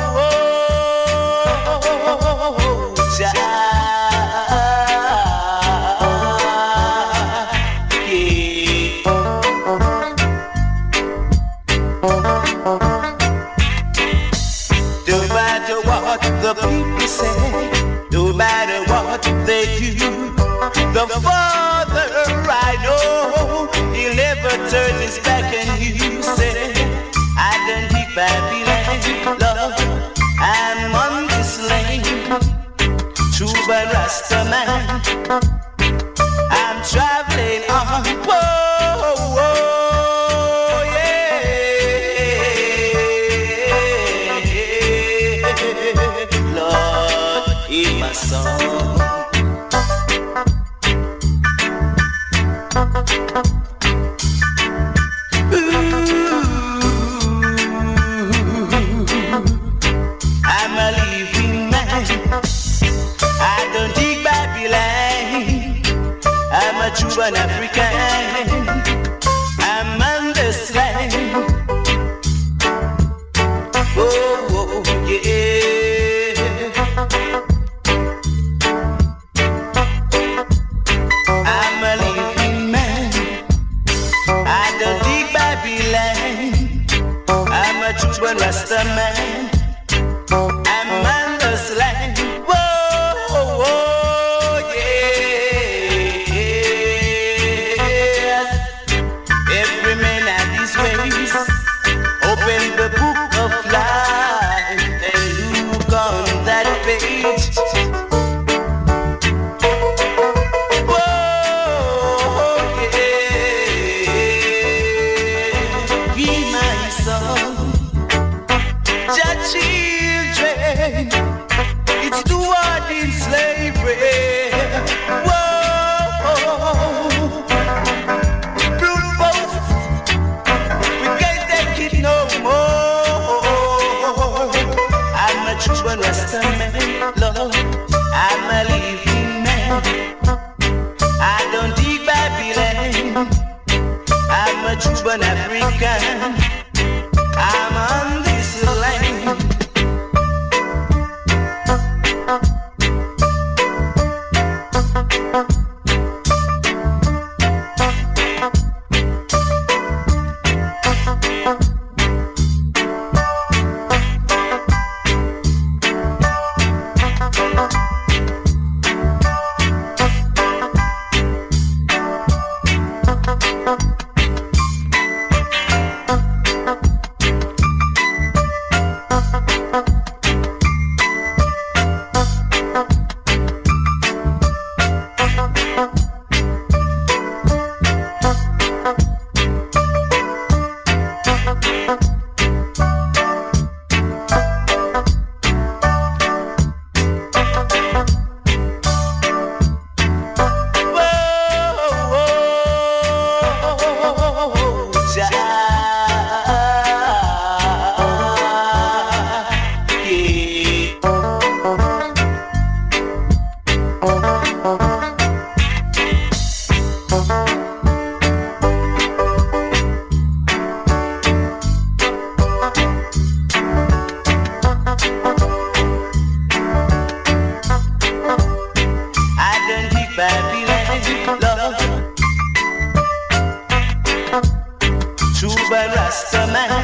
child. The people say, no matter what they do, the Father I know, he'll never turn his back on you. Say, I don't dig Babylon, Lord, I'm on this lane, Cuban Rasta man, I'm traveling on. Whoa, whoa, yeah, Lord, in my song. I'm a living man. I don't dig Babylon. I'm a Cuban African. I'm on this land. Oh, yeah. I'm a living man. I don't dig Babylon. I'm a Cuban Rasta man. I'm on this land. Whoa, whoa, yeah. Every man had his ways. Open the book of life and look on that page. Whoa, yeah. Be my son, your children. It's the word in slavery. Whoa, brute force, we can't take it no more. I'm a Cuban Rasta man, Lord, I'm a living man. I don't dig Babylon. I'm a Cuban African. I'm on this land. Cuban Rasta man.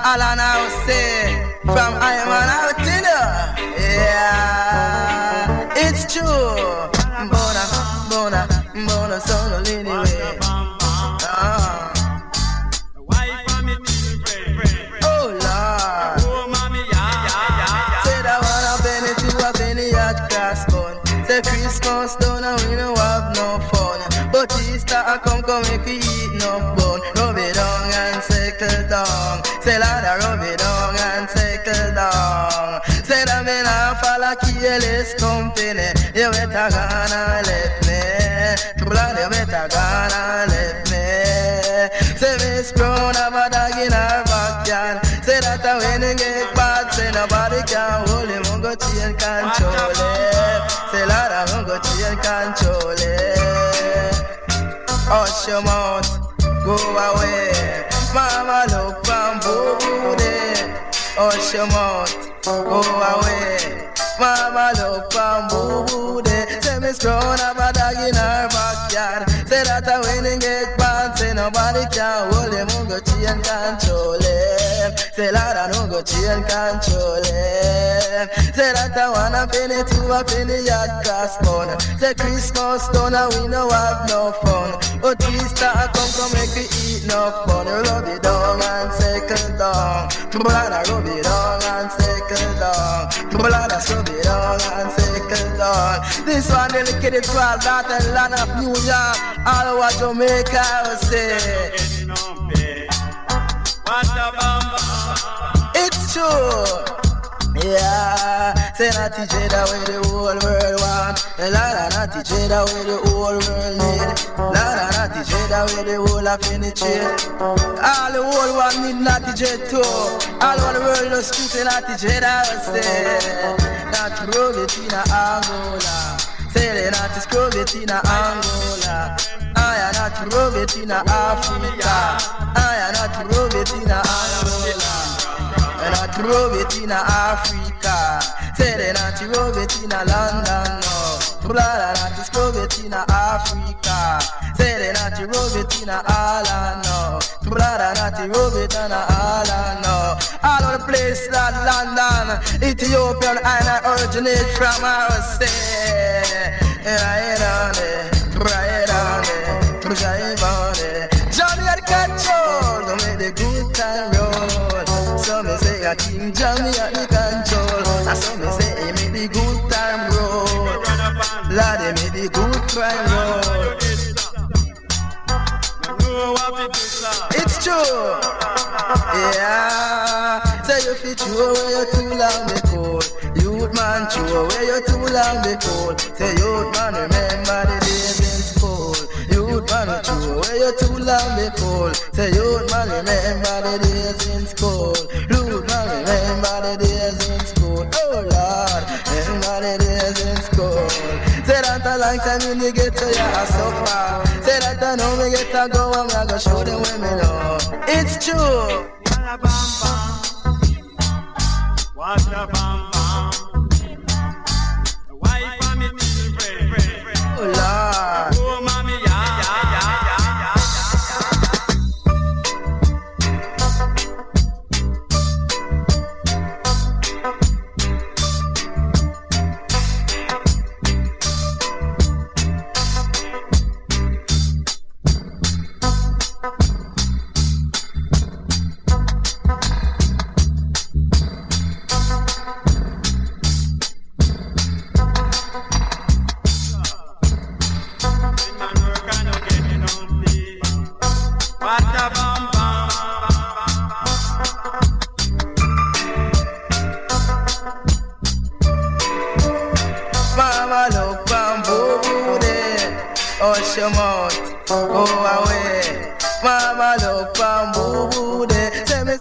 Alan House from Iron out in yeah, it's true. Bona, son anyway. Oh Lord. Say that one a penny, two a penny at grass bun. Say Christmas done and we don't have no fun. But Easter a come make we eat no bun. Rub it down and settle down. Say Lord a rub it down and settle down. Say that me nah follow careless company. You better gonna let me. Blood you better gonna let me. Say Miss Brown have a dog in her backyard. Say that when you get bad, say nobody can hold him. I'm gonna change control it. Say Lord I'm gonna change control it. Hush your mouth, go away. Mama look from booty. Hush your mouth, go away. Mama look from booty. Say Miss Brown have a dog in her backyard. Say that when you get bad, say nobody can hold him. I'm gonna change control it. Say Lord I don't go change control it. Say that I want a penny to a penny at grass bun. Say Christmas done and we no have no fun. But Easter come make we eat no fun. Rub it down and settle down. Blood I rub it down and settle down. Blood I rub it down and settle down. This one dedicated to all that and land of New York. All over Jamaica I say. It's true. Yeah, say not teach it away the whole world want. Lord, not teach it away the whole world need. Lord, not teach it away the whole of penetrate. All the whole world need not teach it too. All over the world no street not teach it away. Not prove it in Angola. Say they not to scrub it in Angola. I am not to rub it in Africa. I am not to rub it in Angola. And I drove it in Africa. Say they not to rub it in London, no. Blood not to scrub it in Africa. Say they not to rub it in Ireland, no. Blood not to rub it in Ireland, no. All of the places that London, Ethiopian, and I originate from our state. Right on it, right on it, drive on it. Johnny at control, don't make the good time roll. Some say a King Johnny at the control. And some say he made the good time roll. Lord, he made the good crime roll. It's true. Yeah. Say you fit you away you too long before. Youth man throw away you too long before. Say youth man remember the days in school. Youth man throw away you too long before. Say youth man remember the days in school. Youth man remember the days in school. Oh Lord, remember the days in school. Say that a long time when you get to your suffer. Say that I know me get to go and I go show them where me know. It's true. What's the bam bam? The wife for me children. Oh Lord. Oh mommy, your mouth, go away. Mama look bamboo de. Say me.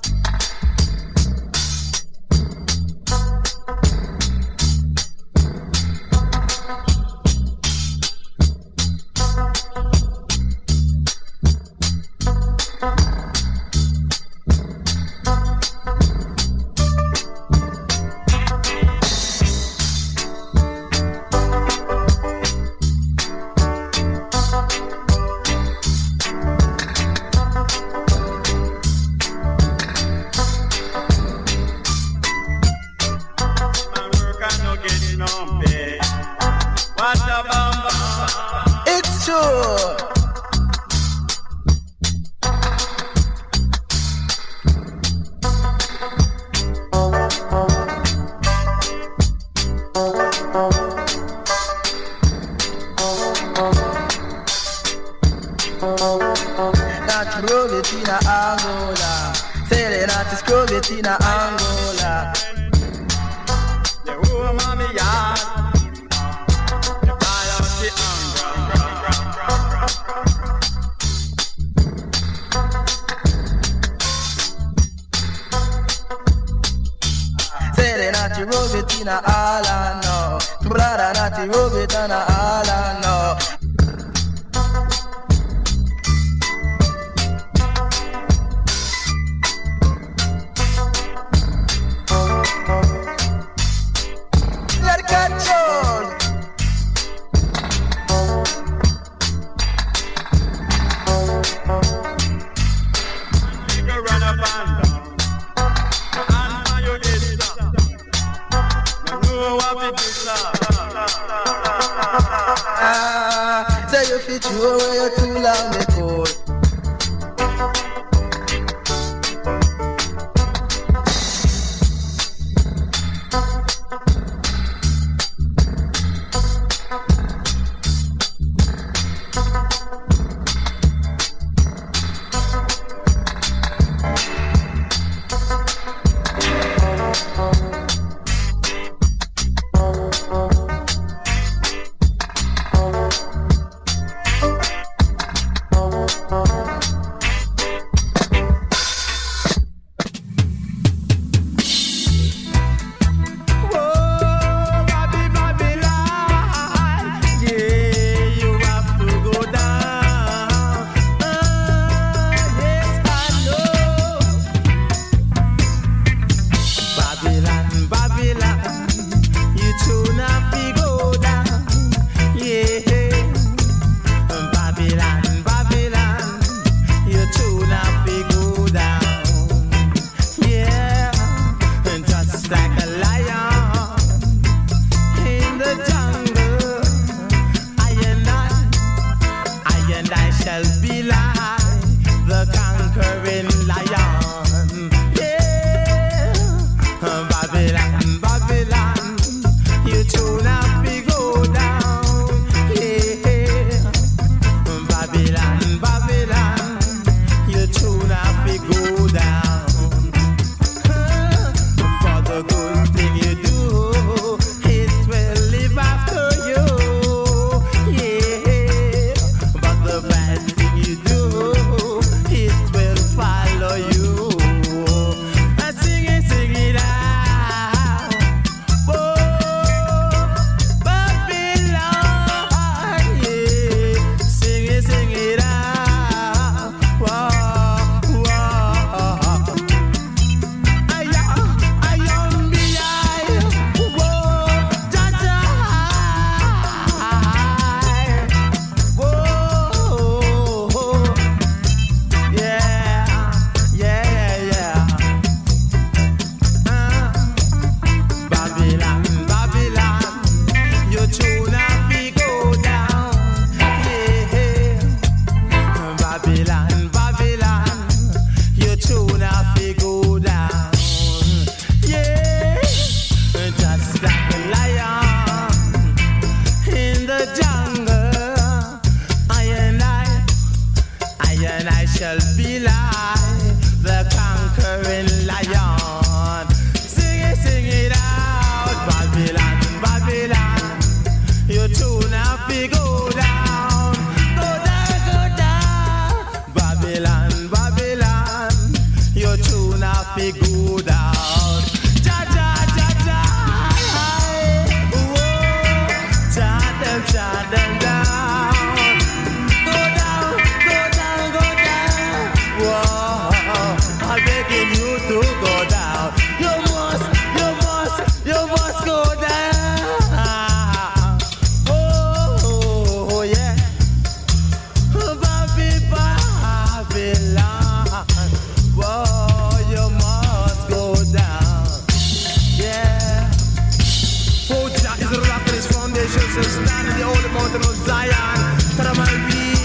Stand in the holy mountain of Zion, that I might be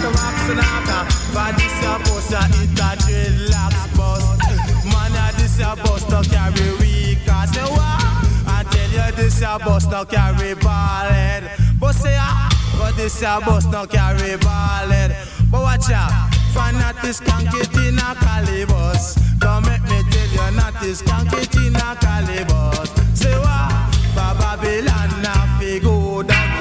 rocks and after. For this your bus, it a dreadlocks bus. Man, this your bus to carry weak. I say what? I tell you this your bus to carry ballhead. But say but this your bus to carry ballhead. But watch out, for not this can't get in a calibus. Don't make me tell you not this can't get in a calibus. Say what? For Babylon now fi go down.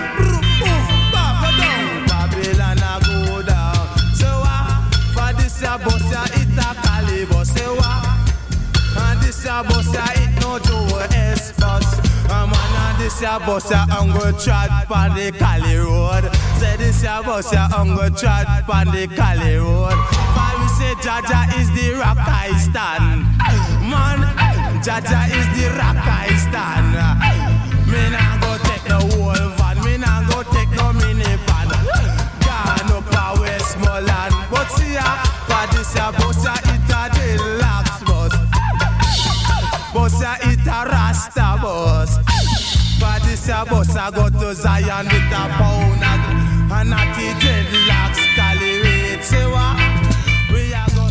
Babylon a go down. Say what? For this ya bus ya it a calibus. Say what? And this ya bus ya it no Joe S bus. Man and this ya bus ya go trot pon the Cali road. Say this ya bus ya go trot pon the Cali road. For we say Jaja is the rock I stand. Man, Jaja is the rock I stand. Me nah go take no whole van. Me nah go take no minivan. Gone up a Westmoreland. But see ya, for this ya bus ya it a deluxe bus. Bus ya it a Rasta bus. For this ya bus I go to Zion with a pound and not the dreadlocks Cali rate. Say what? We a go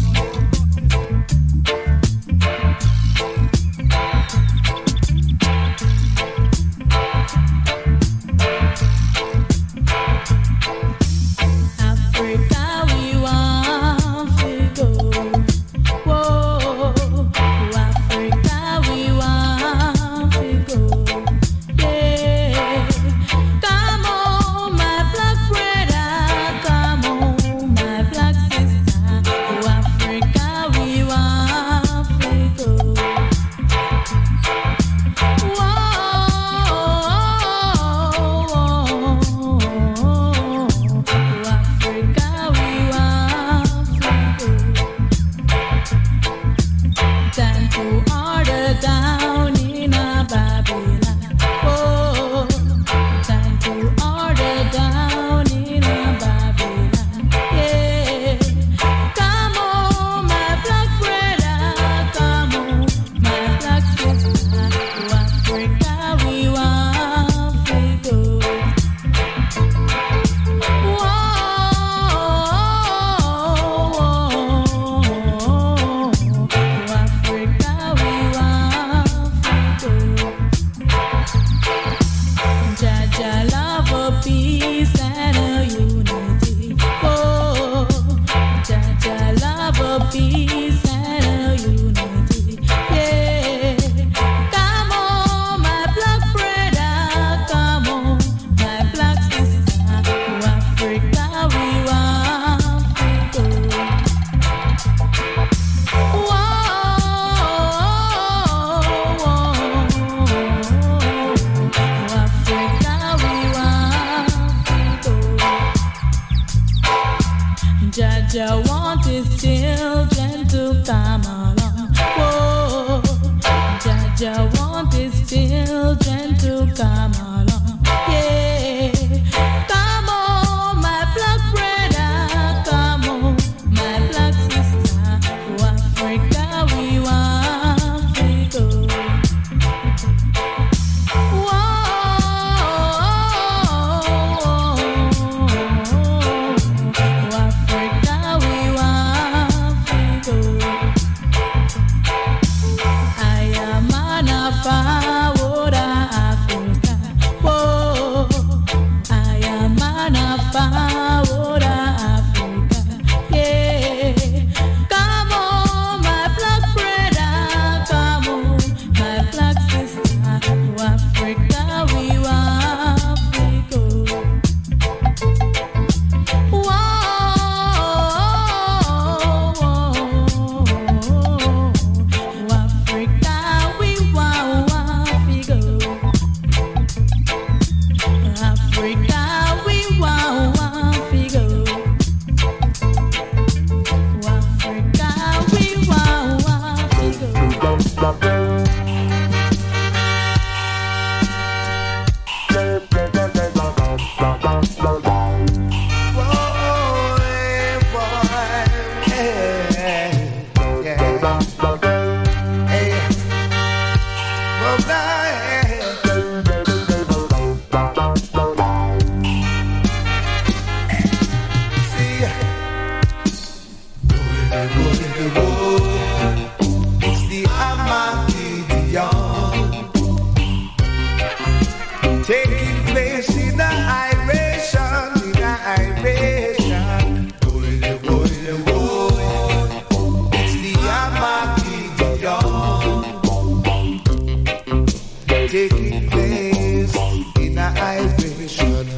taking place in a vibration.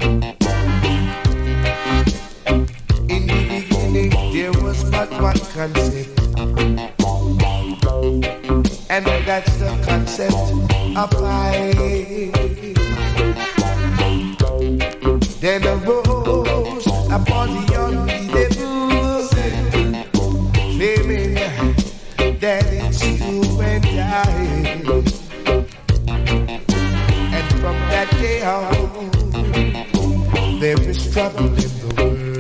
In the beginning there was but one concept, and that's the concept of life. Then arose upon the unbelievable, claiming that it's you and I. And from that day on, there is trouble in the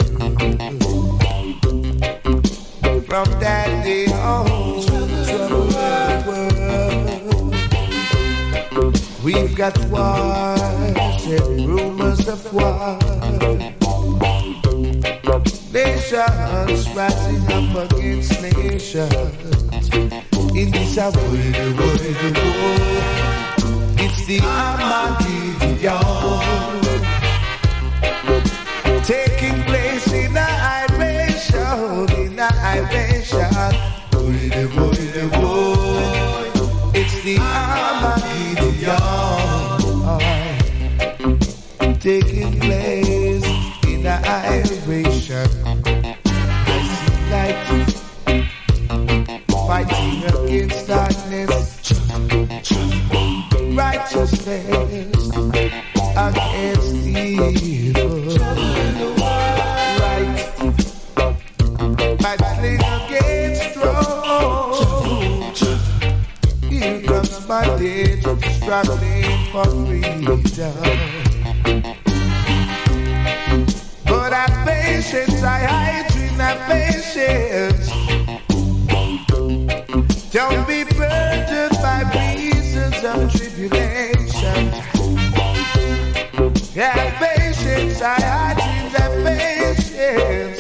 world. From that day on, trouble in the world. We've got wars and rumors of war. Nations rising up against nations. In this world, it's the Armageddon taking place in a vibration, it's the Armageddon taking place in a vibration. I see light fighting against darkness, righteousness against evil, right battling against wrong. Here comes my day, struggling for freedom. But have patience, I hide in that patience. Don't be burdened by reasons of tribulation. Have patience, I hide in that patience.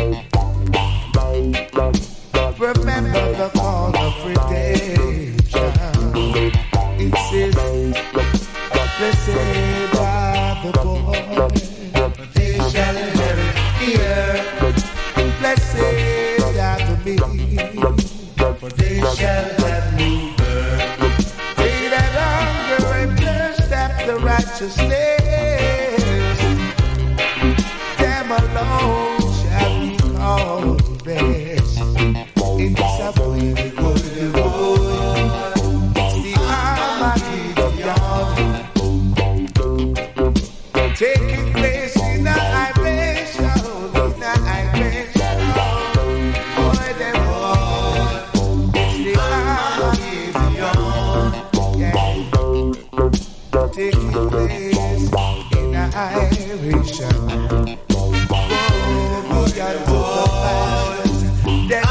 Remember the call of redemption. It says, blessed are the poor, for they shall inherit the earth. Blessed are the meek, for they shall have new birth. They that hunger and thirst after righteousness, them alone shall be called blessed. In this appointed world, it's the Armageddon taking place in a vibration, boy, them all. It's the Armageddon, taking place in a vibration. Boy, them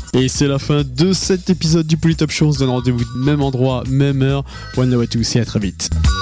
Et c'est la fin de cet épisode du Polytop Show. On se donne rendez-vous même endroit, même heure. One love à tous et à très vite.